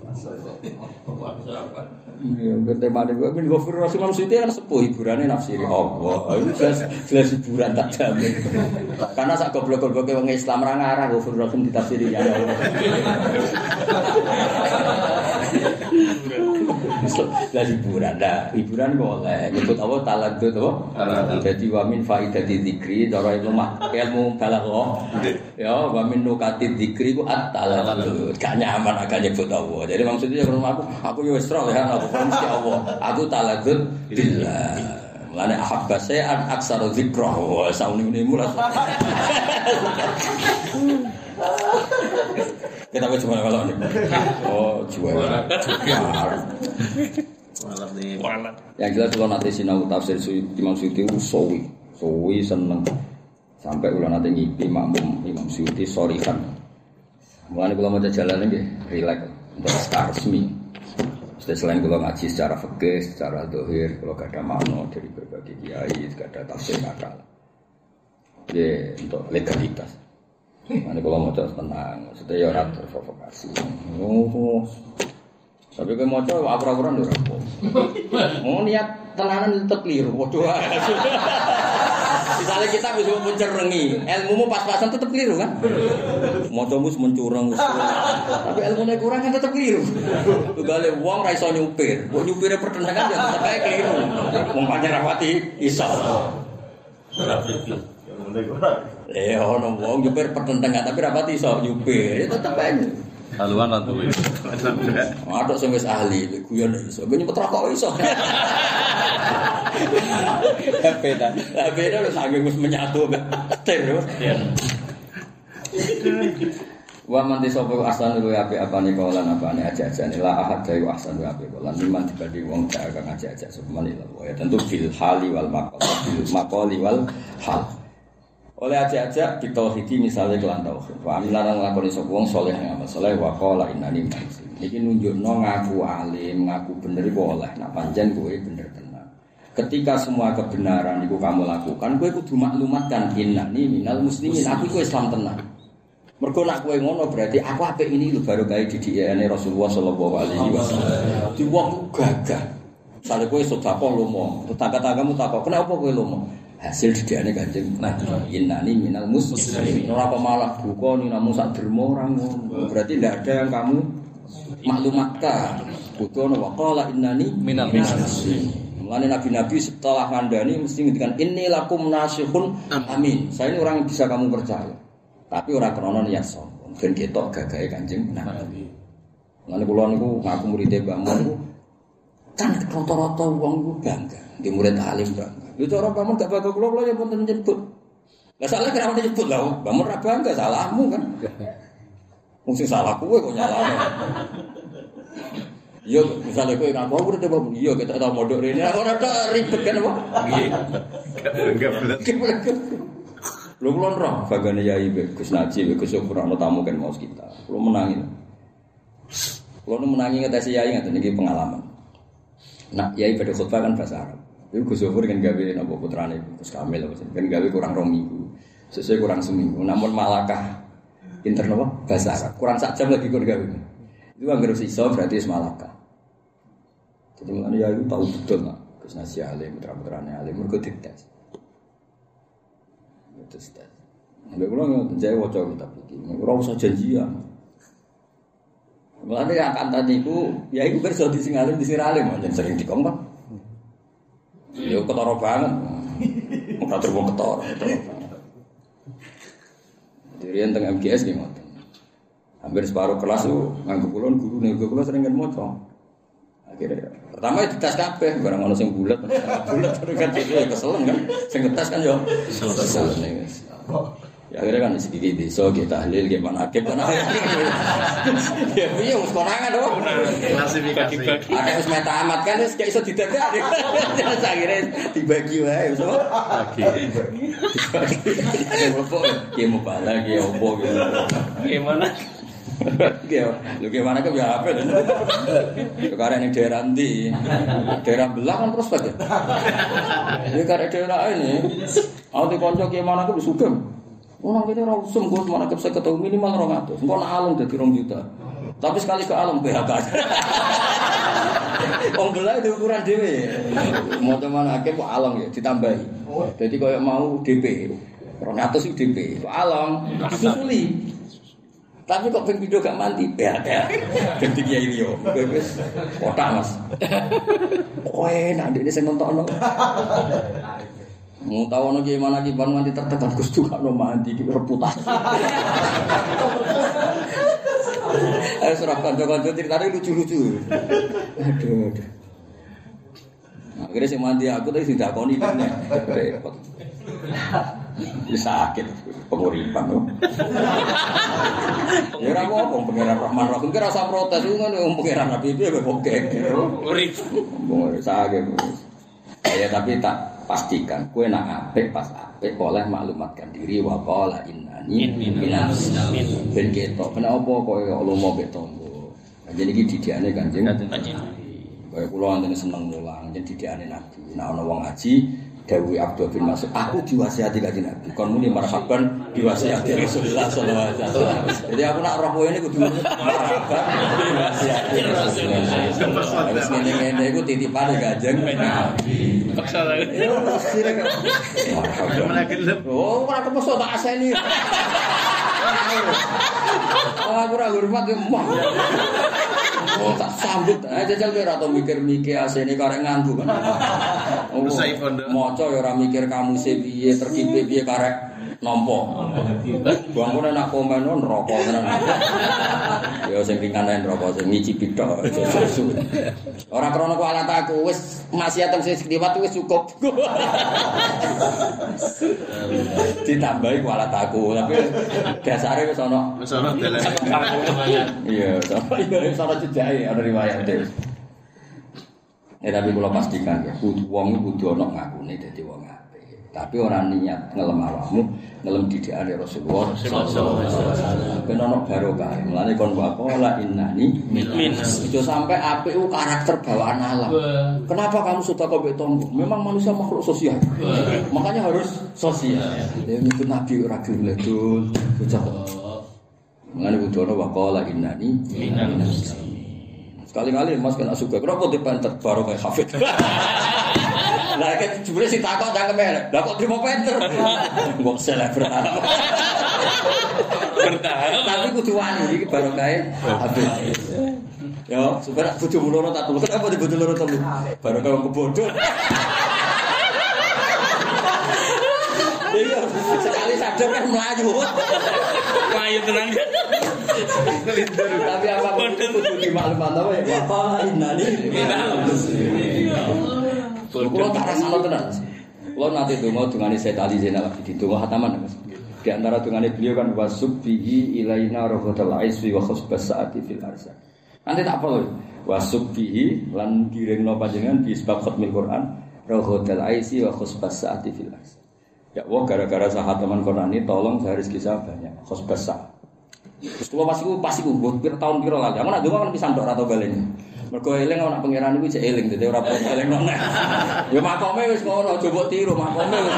Ya, temane kuwi ben Ghafur Rasul Siti kan sepuh hiburane nafsiri Allah. Itu jelas hiburan tak jamin. Karena sak goblok-gobloke wong Islam ra ngarah Ghafur Rasul ditafsiri ya Allah. Lah hiburan kok oleh nyebut apa taladud apa? Dadi wa min faidati dzikri cara ilmu balaghah. Ya wa min nukati dzikri ku at-taladud. Gak nyaman agak nyebut Allah. Jadi maksudnya aku yo wis roh ya aku mesti Allah. Aku taladud billah. Mulane ahabba sayan aksaru dzikra wa sauni mulai. Kita cuma kalau ini. Oh, juara. Malam nih. Malam. Yang jelas kalau nanti sinau tafsir Imam Suyuti Suwi seneng. Sampai ulah nanti ngipi makmum Imam Suyuti sorikan. Mulane kalau mau jalan ini relax untuk resmi. Selain kalau ngaji secara fikih, secara dohir, kalau gak ada makna dari berbagai kiai, gak ada tafsir akal. Jadi untuk legalitas. Mana kalau mau tenang, maksudnya ya orang terprovokasi. Tapi kalau mau coba abra-abran dulu. Mau niat tenanan tetap keliru. Waduh. Misalnya kita bisa mencerengi, ilmumu pas-pasan tetap keliru kan? Mau coba mencurang, tapi ilmunya kurang kan tetap keliru. Tugale wong ra iso nyupir, kok nyupire pertendangan ya tetap kayak keliru. Wong pancen rapati iso. Ono wong nyupir pertentangan tapi rapati iso nyupir, tetep aja. Haluan lah tuh. Ada sing wis ahli, guyon iso. Ben nyempet rokok iso. Beda. Lah beda lho saking wis menyatu ter. Wa man disapa asan luwe apik-apane kaulan apane aja-ajane la ahad dayu ahsan wa apik kaulan liman dibanding wong tak kang aja-aja semen ya tentu bil hali wal maqali wal hal. Oleh aja-aja ditauhidi misalnya kelan tauhid. Wa amilan nglakoni sapa wong saleh ngamal saleh wa qala innani muslim. Iki nunjukno ngaku alim, ngaku bener iku oleh. Nak pancen kowe bener tenan. Ketika semua kebenaran iku kamu lakukan, kowe kudu maklumatkan innani minal muslimin. Aku iku Islam tenan. Mergo nak kowe ngono berarti aku apik ini lho baru kae didikene Rasulullah sallallahu alaihi wasallam. Di wong gagah. Sale kowe sedekah lomo, tetangga-tanggamu takok, "Kenapa kowe lomo?" Hasil didikane Kanjeng Nabi. Innani minal muslimin. Ora apa malah buka ni namu sak derma ora ngono. Berarti ndak ada yang kamu maklumatkan. Kudu wa qala innani minal muslimin. Mulane nabi-nabi setelah ngandani mesti ngendikan inni lakum nasihun amin. Saya ini orang yang bisa kamu percaya. Tapi ora krana niat sombong. Ben ketok gagahe Kanjeng Nabi. Mulane kula niku ngaku murid Mbah Mun niku kan rata-rata wong niku bangga. Di murid alim bangga. Lho cara Mbah Mun gak bangga kula ya pun nyebut. Lah salah kenapa nyebut lah? Mbah Mun ra bangga salahmu kan. Wong sing salah kowe kok nyalahno. Yo misalnya kowe ngaku aku udah Mbah Mun, iya kita tau mondok rene ora tok ribet kan apa? Nggih. Enggak bener. Lho kula roh bagane yai Gus Najib, Gus Syukur ana tamu kan mau kita. Kula menangi. Kula menangi ngetesi yai ngaten iki pengalaman. Nah, yai pada khutbah kan bahasa Arab. Itu Gus Syukur kan gawe napa putrane Gus Kamil kan gawe kurang 2 minggu. Sesuai kurang seminggu. Namun malakah pinter napa bahasa Arab. Kurang sak jam lagi kon gawe. Itu anggere sisa berarti wis malakah. Jadi mulane yai tahu betul nak Gus Najib alim, putra-putrane alim mergo dites. Terus tes. Nek kula ngoten jae waca kitab iki. Ora usah janjian. Mulane akan tadi iku ya iku kerja di sing alim di siralim pancen sering dikongkon. Ya ketara banget. Ora terus ketara. Dirian teng MGS nggih ngoten. Hampir separuh kelas itu nganggo kula gurune kula sering kan maca. Akhirnya pertama itu tes kabeh barang ono sing bulet terus kan keselen kan sing ngetes kan yo keselen ya akhirnya kan sedikit desa kita tahlil gimana akib kan ya piye wis konangan to klasifikasi ada wis metamat kan wis gak iso didadak akhirnya dibagi wae so dibagi mau bala ki opo Gimana? Lu gimana ke biar apa? Sekarang ini daerah nanti, daerah belah kan prospek ya. Ini karena daerah ini, aku di konco gimana ke Sugeng. Orang ini rausum, gue mana ke saya ketemu minimal 200. Gue nak alung jadi 2 juta. Tapi sekali ke alung PHK. Orang belah itu ukuran dewe. Mau teman akhir kok alung ya ditambahi. Jadi kalau mau DP, 200 itu DP. Itu alung disusuli. Tapi kok pengen video gak mandi, ya. Ganti kiai liyo, wis kotak mas. Kowe nak ini saya nonton. Mau tahu ono gimana ki ban mandi tertekan Gus juga no mandi ki reputasi. Ayo serap kanca-kanca ceritane lucu-lucu. Aduh. Akhirnya sing mandi aku tadi sing dakoni kan repot. Bisa sakit penguripan loh. Ya ora apa pengiran Rahman Rahim ki rasa protes iku kan pengiran Nabi piye kok bokek. Urip. Sakit. Ya tapi tak pastikan kowe nak apik pas apik oleh maklumatkan diri wa qala innani minas muslimin. Ben ketok kenapa kowe lomo mbek tangga. Jadi iki didikane Kanjeng Nabi. Kaya kula antene seneng mulang jadi didikane Nabi. Nek ana wong ngaji Dawi Abdul bin Mas'ud, aku diwasiati Kanjeng Nabi. Kon muni marhaban diwasiati Rasulullah sallallahu alaihi wasallam. Jadi aku nak roh kowe ini kudu marhaban diwasiati Rasulullah. Wis ngene-ngene iku titipane Kanjeng Nabi. Paksa lagi. Marhaban. Oh, ora kepeso tak aseni. Aku ora hormat yo mah. Oh, tak sambut aja jajal kowe ora tau mikir-mikir asene karek nganggo kan. Maca ya ora mikir kamu piye terkipe piye karek nampa. Bangku nek komen neraka tenan. Ya sing ringan neraka sing ngicipi tok. Ora krana ku alat aku wis maksiat sing liwat wis cukup. Ditambahi ku alat aku tapi dasare wis ana dalan. Iya, wis ana jejake ana riwayat e. Ya tapi kula pastikan ya, wong kudu ana ngakune dadi wong apik. Tapi ora niat ngelem awakmu, ngelem didikane Rasulullah sallallahu alaihi wasallam. Ben ana barokah. Mulane kon waqala innani minas. Itu sampai apik ku karakter bawaan alam. Kenapa kamu suka mbek tonggo? Memang manusia makhluk sosial. Makanya harus sosial. Ya ngikut Nabi ora gelem bocah. Mulane kudu ana waqala innani minas. Sekali-kali Mas kena suka. Kenapa dipenter baru kayak Hafid? Lah kan jebule sing takok cangkeme. Lah kok trimo penter? Mbok selebgram. Bertahan. Tapi kudu wani iki baru kae Hafid. Ya, sebenarnya bojomu loro tak telu. Kenapa di bojo loro telu? Baru kau kebodoh. Iya, sekali sadar kan melayu. Melayu tenang. Tapi apa pun itu kudu dimaklumat apa ya? Apa innani minal muslimin. Kulo tak rasakno tenan. Kulo nate donga dungane Sayyid Ali Zainal Abidin donga khataman Mas. Di antara dungane beliau kan wasubbihi ilaina rafatal aiswi wa khusbas saati fil arsa. Nanti tak apa wasubbihi lan kiringno panjenengan di sebab khatmil Quran rafatal aiswi wa khusbas saati fil arsa. Ya Allah gara-gara sahat teman Quran ini tolong saya rezeki saya banyak khusbas saat. Terus kalau pas iku buat tahun piro lagi. Aku nak donga kan pisan tok ora tau baleni. Mergo eling ana pangeran iku jek eling dadi ora perlu eling nang. Ya makome wis ngono aja mbok tiru makome wis.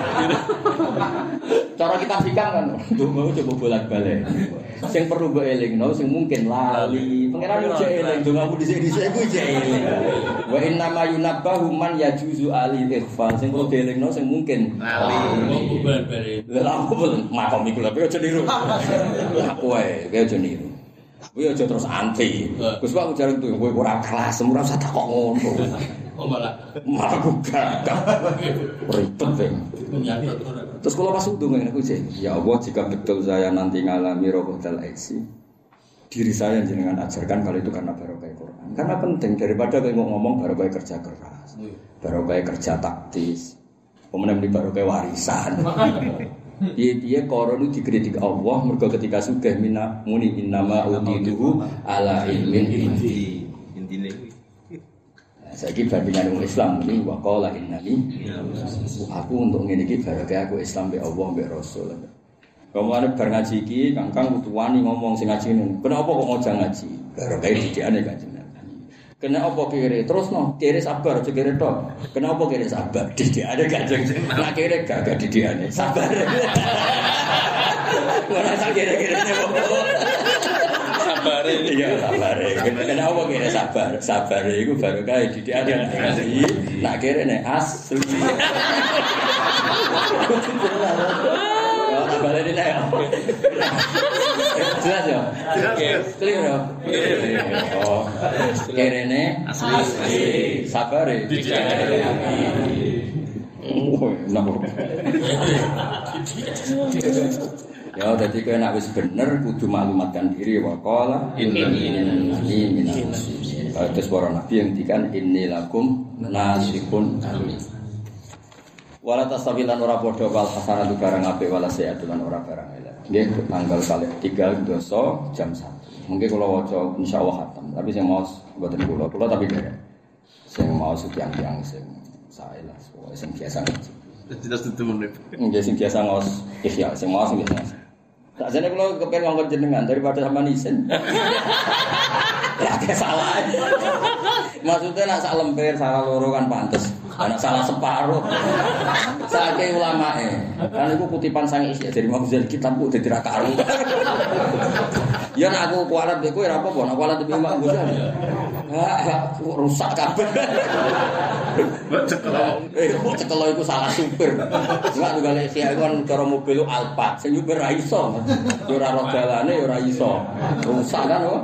Cara kita hikam kan donga coba bolak-balik. Sing perlu mbok elingno sing mungkin lali. Pangeran iku jek eling dongamu dhisik-dhisik iku jek eling. Wa inna ma yunabbahu man yajuzu ali ikhfa. Sing perlu dielingno sing mungkin lali. Lah aku makome iku lha aja niru. Aku wae aja niru. Kowe aja terus anti. Gus Pak ujar itu kowe ora kelas, ora usah tak kok ngono. Oh malah gak. Ribet ben. Terus kalau pas udah ngene aku sih, ya Allah jika betul saya nanti ngalami robotal aksi, diri saya jenengan ajarkan kalau itu karena barokah Quran. Karena penting daripada kowe ngomong barokah kerja keras, barokah kerja taktis, kemudian di barokah warisan. Dia koron itu dikritik Allah mergo ketika sugih muni innama utituhu ala ilmin indi intine saiki bandingan wong Islam ini wa qala innani aku untuk ngene iki barokah aku Islam be Allah be Rasul. Kemane bar ngaji iki Kang utuwani ngomong sing ngaji ngene. Kenapa kok ngojang ngaji? Barokah didikane Kanjeng. Kenapa kiri terus no kiri sabar aja kiri tok. Kenapa kiri sabar? Didikane Kanjeng. Nak kiri gak didikane sabar. Ora sak kiri-kirine sabar. Iya sabar. Kenapa kiri sabar? Sabar iku barokah didikane ngaji. Nak kiri nek asli. Sabar ini lah. Jelas ya? Clear ya? Oh. Kirene asli. Sabar ya? Oh, enak. Ya, jadi kowe nek wis bener kudu maklumatkan diri wa qala innani minal muslimin. Terus para nabi yang dikan innilakum nasikun amin. Wala tasawilan ora padha wal hasanatu barang apik wala sayyidun ora barang elek. Nggih tanggal 3 dosa jam 1. Mungkin kula waca insyaallah khatam, tapi sing maos mboten kula tapi derek. Sing maos tiyang-tiyang sing sae lah, sing biasa ngaji. Tidak tentu menip. Nggih sing biasa maos ihya, sing maos biasa. Tak jane kula kepen ngongkon jenengan daripada sampean isin. Lah salah. Maksudnya nak sak lemper salah loro kan pantes. Anak salah separuh. Saking ulamae. Kan iku kutipan sang isi dari Mafuzil kitabku dadi ra karu. Ya nek aku kualat kowe ora apa-apa, nek kualat iki Mak Ghazali. Rusak kabeh. Cekelo iku salah supir. Enggak tunggale isi iku kan cara mobil Alphard, sing nyupir ra iso. Ya ora roh dalane ya ora iso. Rusak kan kok.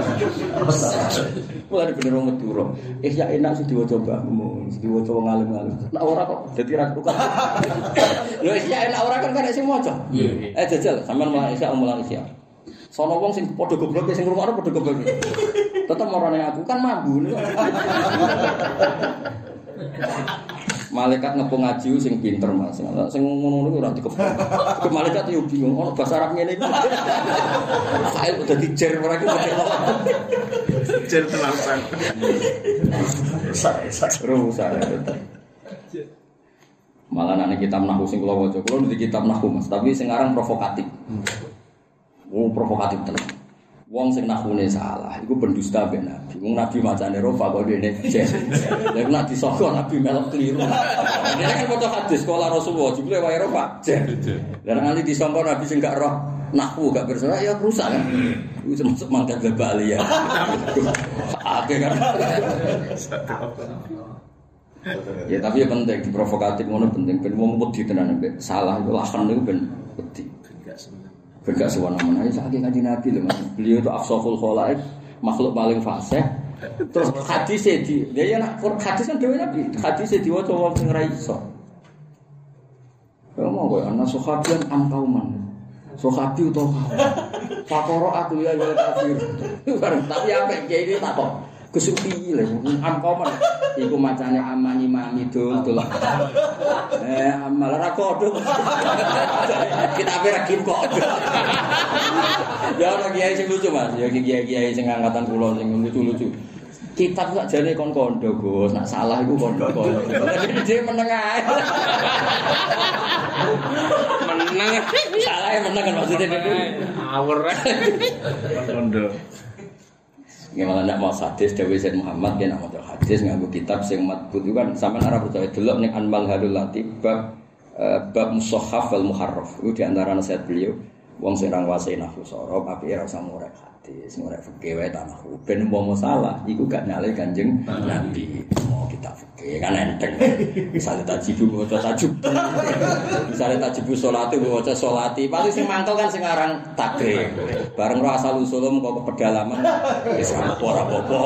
Mulai bener wong Madura. Ya enak sih diwaca mbahmu, diwaca wong alim-alim. Nek ora kok dadi ra tukar. Lho ya enak ora kan sing maca. Jajal sampean mulai isya. Sono wong sing padha gobloke sing ngrungokno padha gobloke. Tetep marane aku kan mambu. Malaikat ngepung ngaji sing pinter Mas. Sing ngono niku ora dikepung. Malaikat yo bingung ono bahasa Arab ngene iki. Kae udah dijer ora iki pakai apa. Jer tenasan. Rusak. Malah nek kitab nahwu sing kula waca, kula di kitab nahwu Mas, tapi sing aran provokatif. Provokatif tenan. Wong sing nahune salah iku pendusta mbek Nabi. Wong Nabi macane rofa kok dene jes. Lha nek disoko Nabi melok kliru. Dene kan foto hadis sekolah Rasulullah jebule wae rofa jes. Lah nganti disangka Nabi sing gak roh nahwu gak bersalah ya rusak kan. Iku termasuk mangkat Bali ya. Oke kan. Ya tapi yang penting di provokatif ngono penting ben wong wedi tenan mbek salah iku lahan niku ben wedi. Enggak semena-mena. Bergak semena-mena. Saking Kanjeng Nabi lho Mas. Beliau itu afsaful khalaik makhluk paling fasih. Terus hadis dia nak hadis kan dhewe Nabi, hadis diwaca wong sing ra iso. Kamu kok ana sahabian am kauman. Sahabi utawa fakoro aku ya kafir. Tapi apa kiai iki tak kok kesupi lho am kauman iku macane amani mami dul. Amal ra kodho. Kita pirakin kok. Ya ora kiai sing lucu Mas, ya kiai sing angkatan kula sing lucu-lucu. Kitab sak jane kon kondo, Gus. Nek salah iku kondo-kondo. Dhewe meneng ae. Meneng. Salah ya meneng kan maksudnya itu. Awur. Kondo. Gimana nak mau hadis Dewi Said Muhammad dia nak mau hadis nganggo kitab sing matbut itu kan sampean arep percaya delok ning Anmal Halul Latif bab Mushaf wal Muharraf. Itu di antara nasihat beliau wong sing ra nguasai nahwu sorob apike ora usah ngorek hadis, ngorek fikih wae ta nahwu. Ben umpama salah iku gak nyale Kanjeng Nabi. Mau kita fikih kan enteng. Misale tajibu waca tajub. Misale tajibu salate waca salati. Paling sing mangkel kan sing aran takrir. Bareng ora asal usulum kok pedalaman wis ora apa-apa.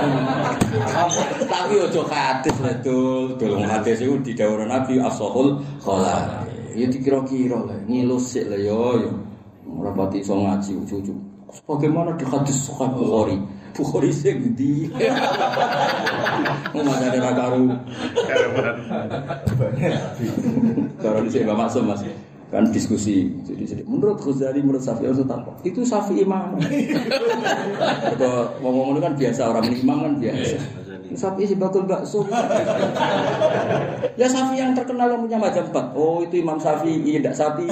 Tapi ojo hadis ledul, dolong hadis iku didhawuhna Nabi as-sahul khala. Ya dikira-kira lah, ngilusik lah yo. Ora pati iso ngaji cucu. Bagaimana di hadis Sahih Bukhari? Bukhari sing ndi? Ngomong ada karu. Kalau di sini masuk Mas. Kan diskusi. Jadi menurut Ghazali, menurut Syafi'i itu Syafi'i imam. Kalau ngomong-ngomong kan biasa orang imam kan biasa. Syafi'i si bakul bakso. Ya Syafi'i yang terkenal yang punya macam 4. Oh itu Imam Syafi'i, tidak Syafi'i.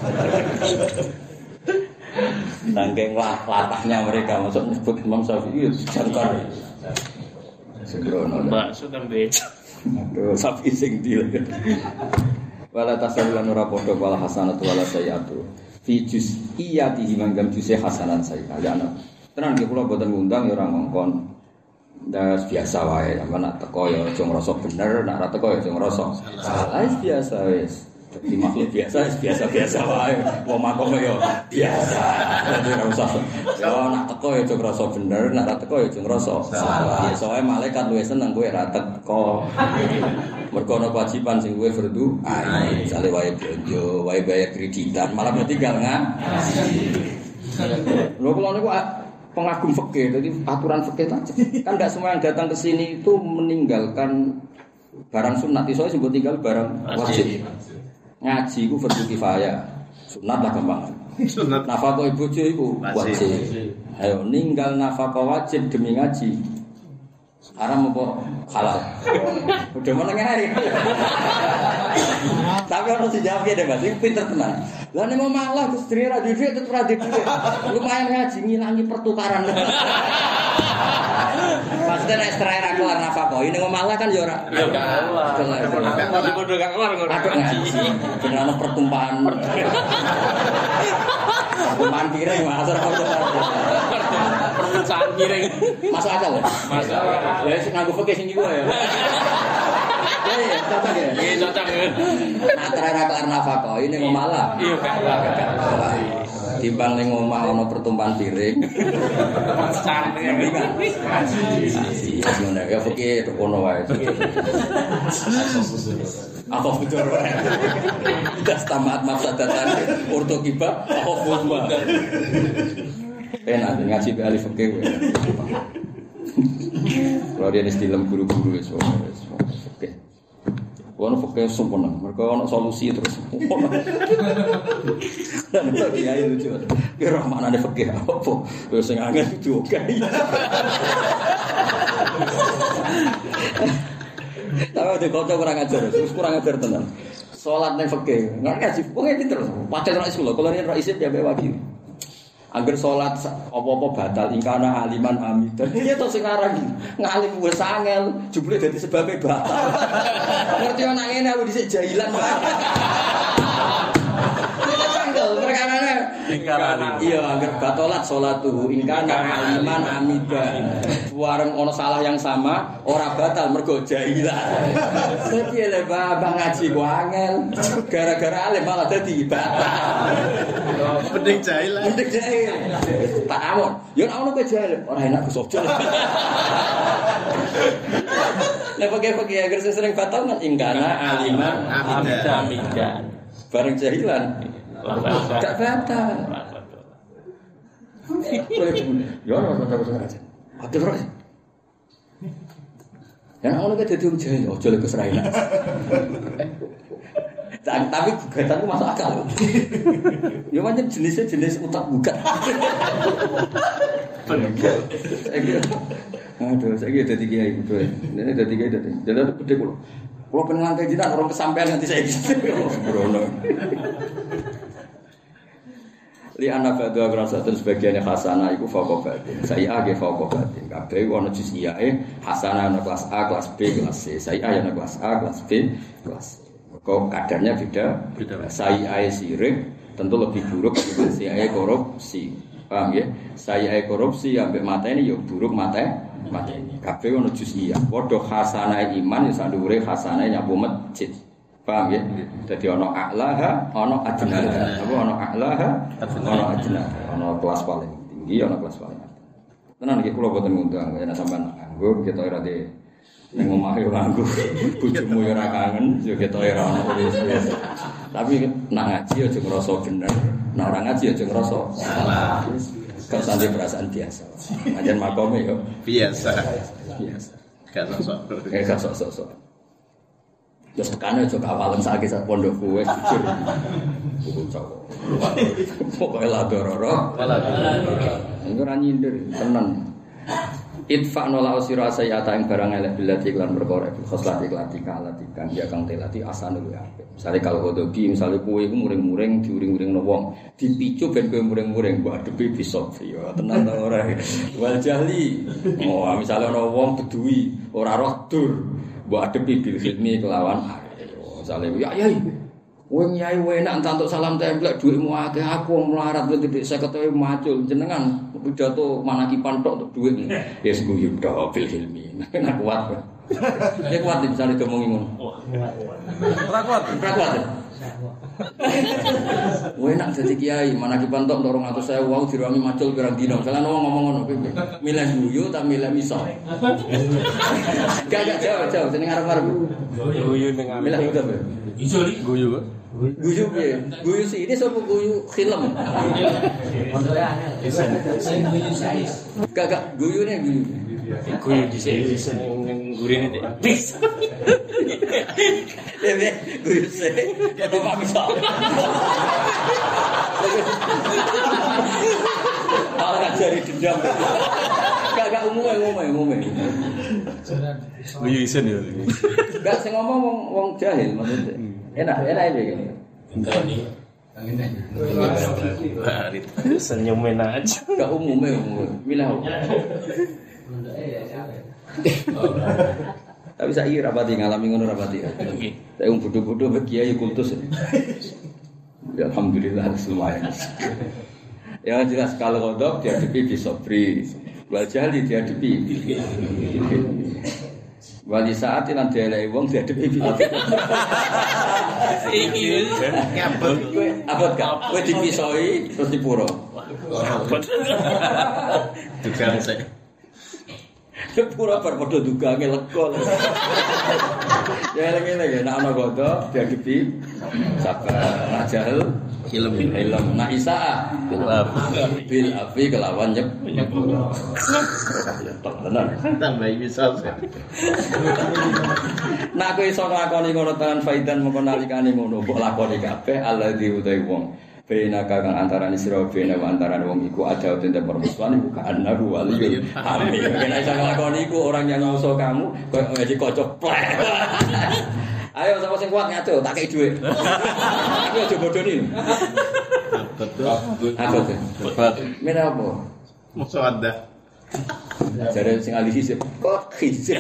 Nangkeng latahnya mereka masuk nyebut Imam Syafi'i jangkar. Sembrono. Bakso kan beca. Aduh Syafi'i sing ndi. Wala tasalulan ora padha wala hasanatu wala sayyatu. Fi juz'iyatihi mangam juz'i hasanan sayyat. Ya ana. Tenan ki kula boten ngundang ya ora ngongkon. Das biasa wae, nak teko ya aja ngrasa bener, nak ora teko ya aja ngrasa salah. Biasa wis. Dadi makhluk biasa biasa wae. Wong makom ya biasa. Dadi ora usah. Ya nak teko ya aja ngrasa bener, nak ora teko ya aja ngrasa salah. Soale malaikat luwih seneng kowe ora teko. Mergo ana kewajiban sing kowe fardu ain. Misale wae blonjo, wae bayar kreditan, malah tinggal ngaji. Lho kula niku pengagum fikih, jadi aturan fikih saja. Kan tidak semua yang datang ke sini itu meninggalkan barang sunat. Soalnya sebut tinggal barang wajib. Ngaji itu fardu kifayah. Sunat lah gampang. Nafkah ibu itu wajib. Ayo ninggal nafkah wajib demi ngaji. Haram apa halal? Udah menengah. Tapi harus dijawab ya deh Mas, ini pinter tenang. Lah nek mau malah Gus Dri ra duwe tetep ra duwe. Lumayan ngaji ngilangi pertukaran. Maksudnya nek serai ra kelar nafkah, ini mau malah kan ya ora. Ya kelar. Padha gak kelar kok ngaji. Bener ana pertumpahan. Pertumpahan piring masuk pertumpahan piring. Masuk akal. Masuk. Ya sing nganggo fikih sing iku ya. Ya, cocok ya. Iya cocok. Antara ra kelar nafkah, ini mau malah. Iya kelar. Timbang ning omah ana pertumpahan piring. Santai kan. Iya, ngono ya fikih kono wae. Apa betul wae. Das tamat mafsadatan ortokiba apa fuzma. Enak ngaji be alif fikih. Kalau dia istilah guru-guru wis fikih. Ono fikih sempurna, mereka ono solusi terus. Dan kiai lucu. Kira mana ada fikih apa? Terus sing angel itu oke. Tapi ada kocok kurang ajar, terus kurang ajar tenan. Salat ning fikih, nggak ngaji, wong iki terus. Padahal nek sekolah, kalau ini isip ya bae wajib. Angger salat apa-apa batal ingkana aliman amidan. Iya to sing aran ngalim wis angel, jebule dadi sebabe batal. Ngerti ana ngene aku dhisik jahilan wae. Kita tanggal perkarane Iya, angger batolat salatuhu ingkana aliman amidan. Wareng ana salah yang sama, ora batal mergo jahilan. Dadi le babang ngaji ku angel. Gara-gara alim malah dadi batal. Mending jahil. Mending jahil. Tak awon. Yo nek ono ke jahil, ora enak Gus Ojo. Lah pakai agar sering batal kan ingkana aliman amidan. Bareng jahilan. Gak batal. Ya ora batal aja. Ada terus. Yang ono ke dadi jahil, ojo lek keseraina. Tapi gugatan itu masuk akal. Ya macam jenis utak gugat. Aduh, saya kira dadi kiai betul. Ini dadi kiai dadi. Jadi itu gede kulo. Kulo pengen lantai jinak orang kesampean nanti saya gitu. Sembrono. Li ana ba'da grasatun sebagiannya hasanah iku fauqa batin. Saya age fauqa batin. Kabeh ono juz'iyae hasanah ono kelas A, kelas B, kelas C. Saya ono kelas A, kelas B, kelas C. Kok kadarnya beda. Saya sirik tentu lebih buruk dibanding saya korupsi. Paham ya? Saya korupsi ambek mateni yo buruk mateni. Kabeh ono juz'iyah. Padha hasanah iman ya sandure hasanah nyapu masjid. Paham ya? Dadi ono a'laha, ono adnaha. Apa ono a'laha, ono adnaha. Ono kelas paling tinggi, ono kelas paling atas. Tenan iki kula boten ngundang, yen sampean nganggo kita ora de ning omah yo nganggo. Bojomu yo ora kangen, yo kita ora ono wis. Tapi nak ngaji aja ngrasa bener. Nak ora ngaji aja ngrasa salah. Gak sampe perasaan biasa. Anjen makome yo Biasa. Gak sok-sok. Terus tekannya juga awalan sakit saat pondok gue jujur. Pokoknya ladororo. Ini kan nyindir, tenang. Itfa nola usira sayata yang barang elek bilati iklan berkorek khoslat iklati kalatikan dia kang telati asanul ape. Misalnya kalau kodogi, misalnya kue itu muring-muring diuring-uring nowong dipicu ben kue muring-muring buat depi bisok ya tenang ta ora. Wal jahli. Oh, misalnya nowong bedui ora roh dur buat depi bil hilmi kelawan misalnya ya kowe nyai enak entuk salam templek dhuwitmu akeh aku melarat titik 50.000 macul jenengan pidato manakipan tok untuk dhuwit ya guyu tok bil hilmi nek kuat ya kuat misalnya domongi ngono ora kuat kowe enak dadi kiai manakipan tok 200.000 wau dirangi macul pirang dina misalnya ngomong ngono milih guyu ta milih miso gak jauh jeneng arep-arep guyu ning milih udah iso li guyu piye? Guyu sih ini sapa guyu film. Gak guyune guyu. Guyu dhisik ning gurine teh. Bis. Lebe guyu sih. Ya bapak bisa. Malah jari dendam. Gak umum. Guyu isen ya. Gak sing ngomong wong jahil maksudnya. Enak iki. Ini. Senyumin aja. Gak umum. Milah. Tapi saya rapati ngalami ngono rapati. Saya bodoh-bodoh bagi kiai kultus. Ya alhamdulillah lumayan. Ya jelas kalau kodok dihadapi bisobri. Wal jahli dihadapi. Wali saat lan dieleki wong dihadapi iki. Ngabot kowe abot gak kowe dipisoi terus dipuro. Dugang sik. Pura bar padha dugange lega. Ya eling-eling nek ana godho dihadapi sabar ajal ilmu. Nak Isa bil afi kelawan nyepuro. Tenan. Tambah misal. Nak kowe iso nglakoni ngono tenan faidan mengko nalikane ngono mbok lakoni kabeh alladzi utai wong. Bena kang antarané sira bena antarané wong iku ada tentang permusuhan iku kanaru waliyul amin. Nek iso nglakoni iku orang yang nguso kamu koyo ngaji kocok plek. Ayo sapa sing kuat ngaco tak kei dhuwit. Aku aja bodoni. Abot. Mena apa? Musuh ada. Jare sing alih hisip. Kok hisip?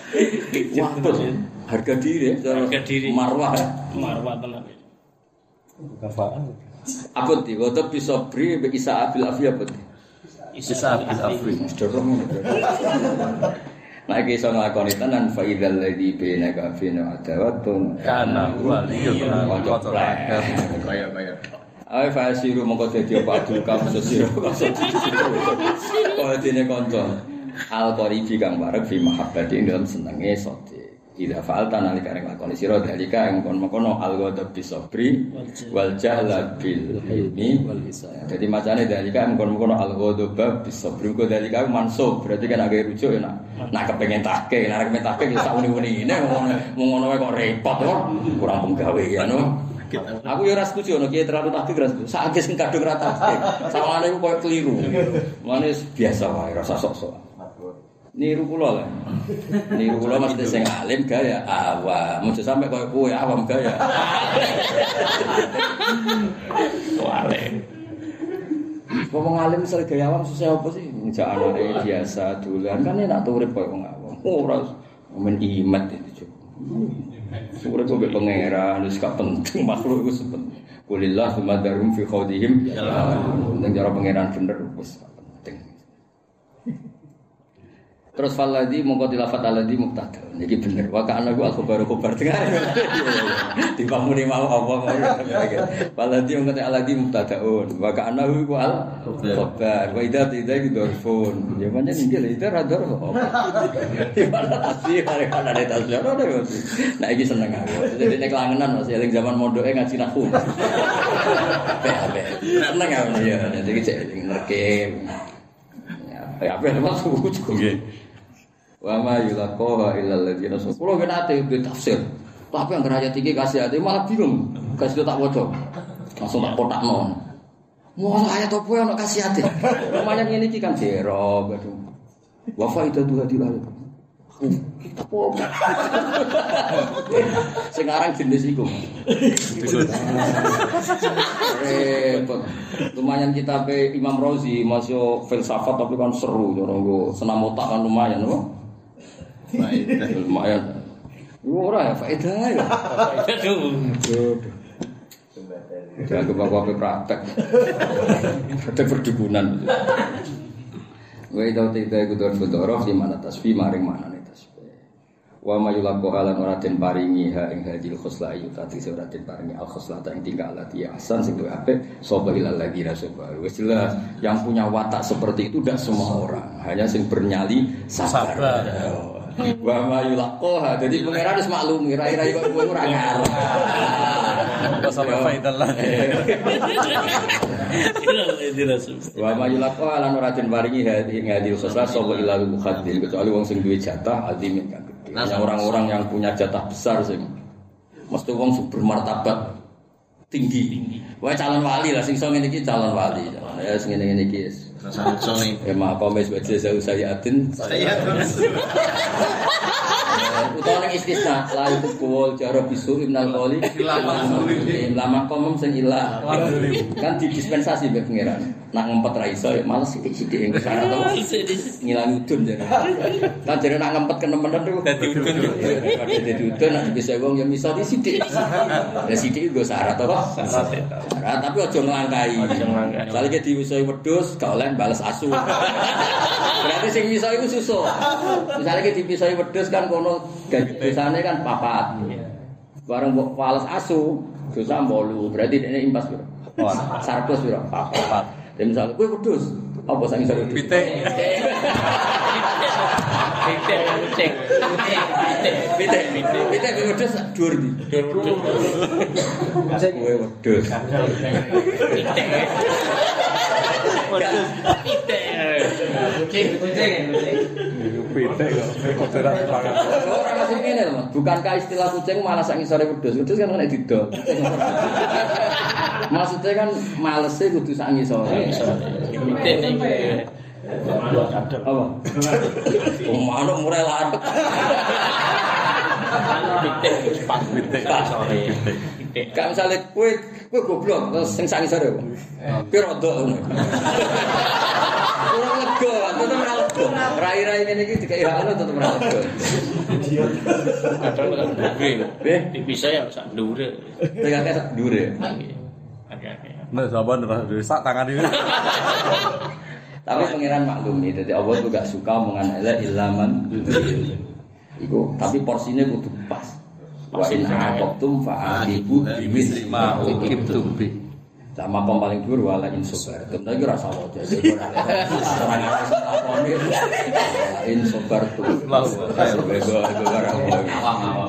Wah, harga diri marwah tenan. Kafaan. Apa ti? Waktu bisa beri bisa abil afia apa ti? Isa bil afri. Dorong. Nah, kisah ngelakoni tenan faidal ladzi bainaka fina adawatun Kana waliyun Kaya. ae fasiru mongko dadi apa adul kamu sesiro kok dene kanca al qaribi kang bareng fi mahabbati ing dalam senenge sote ila fa'alta nalika nglakoni sira dalika ing kono al ghadab bisabri wal jahla bil ilmi wal lisan dadi macane dalika ing kono al ghadab bisabri kok dalika mansub berarti kan agak rujuk ya nak kepengin tahke nek kepengin tahke ya sak uni-uni ngene ngono kok repot kok kurang penggawe ya no. Aku ya ora setuju ono kiye terlalu tahke ora setuju sak sing kadung ra tahke sawangane iku koyo keliru mane biasa wae rasa sok-sok niru kula lah. Niru kula mesti sing alim gaya awam. Mesti sampe koyo kowe awam gaya. Alim. Wong alim sel gaya awam susah apa sih? Njak anake biasa dolan kan enak urip koyo wong awam. Ora men imet itu cukup. Urip kok pangeran wis gak penting makhluk iku sepen. Kulillah sumadarum fi khawdihim. Ning cara pangeran bener wis penting. Terus faladi mongko dilafat aladi mubtada. Niki bener. Wa kana ku al-khabar dengar. Dipamuni mau apa faladi mongko aladi mubtadaun. Wa kana ku al-khabar. Wa idza iku dorfun. Ya pancen iki lho itu rador kok. Gimana tasih ada tasih ada. Nah iki seneng aku. Jadi nek langenan Mas eling zaman mondoke ngaji nahwu. Seneng aku ya. Jadi cek ngerke. Ya apa maksud cukup nggih. Wa ma yulaqaha illal ladzina sabaru. Kulo ben ate tafsir. Tapi yang ayat iki kasih ate malah bingung. Kasih tak waca. Langsung tak kotakno. Mau ayat apa ono kasih ate. Lumayan ngene iki kan jero aduh. Wa faidatu hadil ayat. Apa? Sekarang jenis iku. Repot. Lumayan kita pe Imam Razi masuk filsafat tapi kan seru orang senam otak kan lumayan loh. Lumayan. Ora ya faedah ya. Faedah tuh. Jangan kebawa praktek. Praktek perdukunan. Wa idza tita iku doroh di mana tasbih maring manane tasbih. Wa mayulaqo halan ora den paringi ha ing hadil khosla ayu tati ora den paringi al khosla ta ing tingkah lati asan sing luwih apik sapa ilal lagi rasul. Wis jelas yang punya watak seperti itu tidak semua orang, hanya sing bernyali sabar. Wa mayulaqo ha dadi pangeran wis maklum kira-kira kok kowe ora ngarep. Sampai faidallah. Wa mayulaqo lan ora den paringi hadil khosla sapa ilal mukhaddim kecuali wong sing duwe jatah azimin kan. Orang-orang yang punya jatah besar sih, mesti wong bermartabat tinggi. Wah calon wali lah, sing so ngene iki calon wali. Ya sing ngene iki. Sangat ya maaf mes baca sayatin. Utawa ning istisna la yuqul jaro bisu ibnal qoli lama komem sing ilah kan didispensasi mbek pangeran nak ngempet ra iso ya males sithik-sithik ing syarat to ngilangi udun jare kan jare nak ngempet kenemen tuh dadi udun dadi udun nak bisa wong ya miso sithik ya sithik nggo syarat to kok syarat tapi aja nglangkai salike diwisoi wedhus gak oleh bales asu berarti sing miso iku susu misalnya dipisoi wedhus kan kono dosane kan papat. Bareng mbok pales asu, dosa 8. Berarti dene impas piro? 100 piro? 4. Dan misalnya kowe wedhus, apa sing iso wedhus? Pitik. Pitik wedhus dhuwur ndi? Kowe wedhus. Pitik kok ora banget. Ora masih ngene lho, bukankah istilah kucing malah sak ngisore wedhus. Wedhus kan nek didol. Maksudnya kan malese kudu sak ngisore. Pitik niki. Apa? Manuk murai larat. Pitik sore. Pitik. Gak misale kowe goblok terus sing sak ngisore. Piro ndok ngono. Ora lega, tetep ora lega. Rai-rai ngene iki dikirane tetep ora lega. Kadang kan dhuwure. Dipisah ya sak dhuwure. Tegake sak dhuwure. Oke. Nah, sahabat dari sak tangan ini. Tapi pangeran maklum nih, jadi Allah tuh gak suka omongan elek ilaman. Iku, tapi porsinya kudu pas. Wa in aqabtum fa'aqibu Misri ma ukibtum bi. sama kom paling dhuwur wala in sabartum. Tapi ora salah aja. Ora ngerasa lakoni. In sabartum. Awam.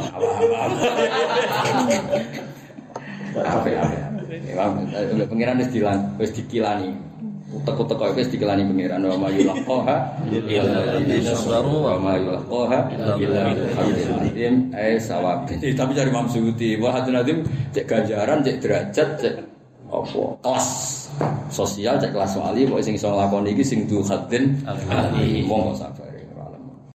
Apa. Ya, pengiran wis dikilani. Utek-utek wis dikilani pengiran wa mayulaqaha illa sabaru wa mayulaqaha illa bi'adlim sawabin. Tapi cari Imam Suyuti, wa hadun adim cek ganjaran, cek derajat, cek apa? Kelas sosial, cek kelas wali, pokoke sing iso nglakoni iki sing du hadin ali wong kok sabar.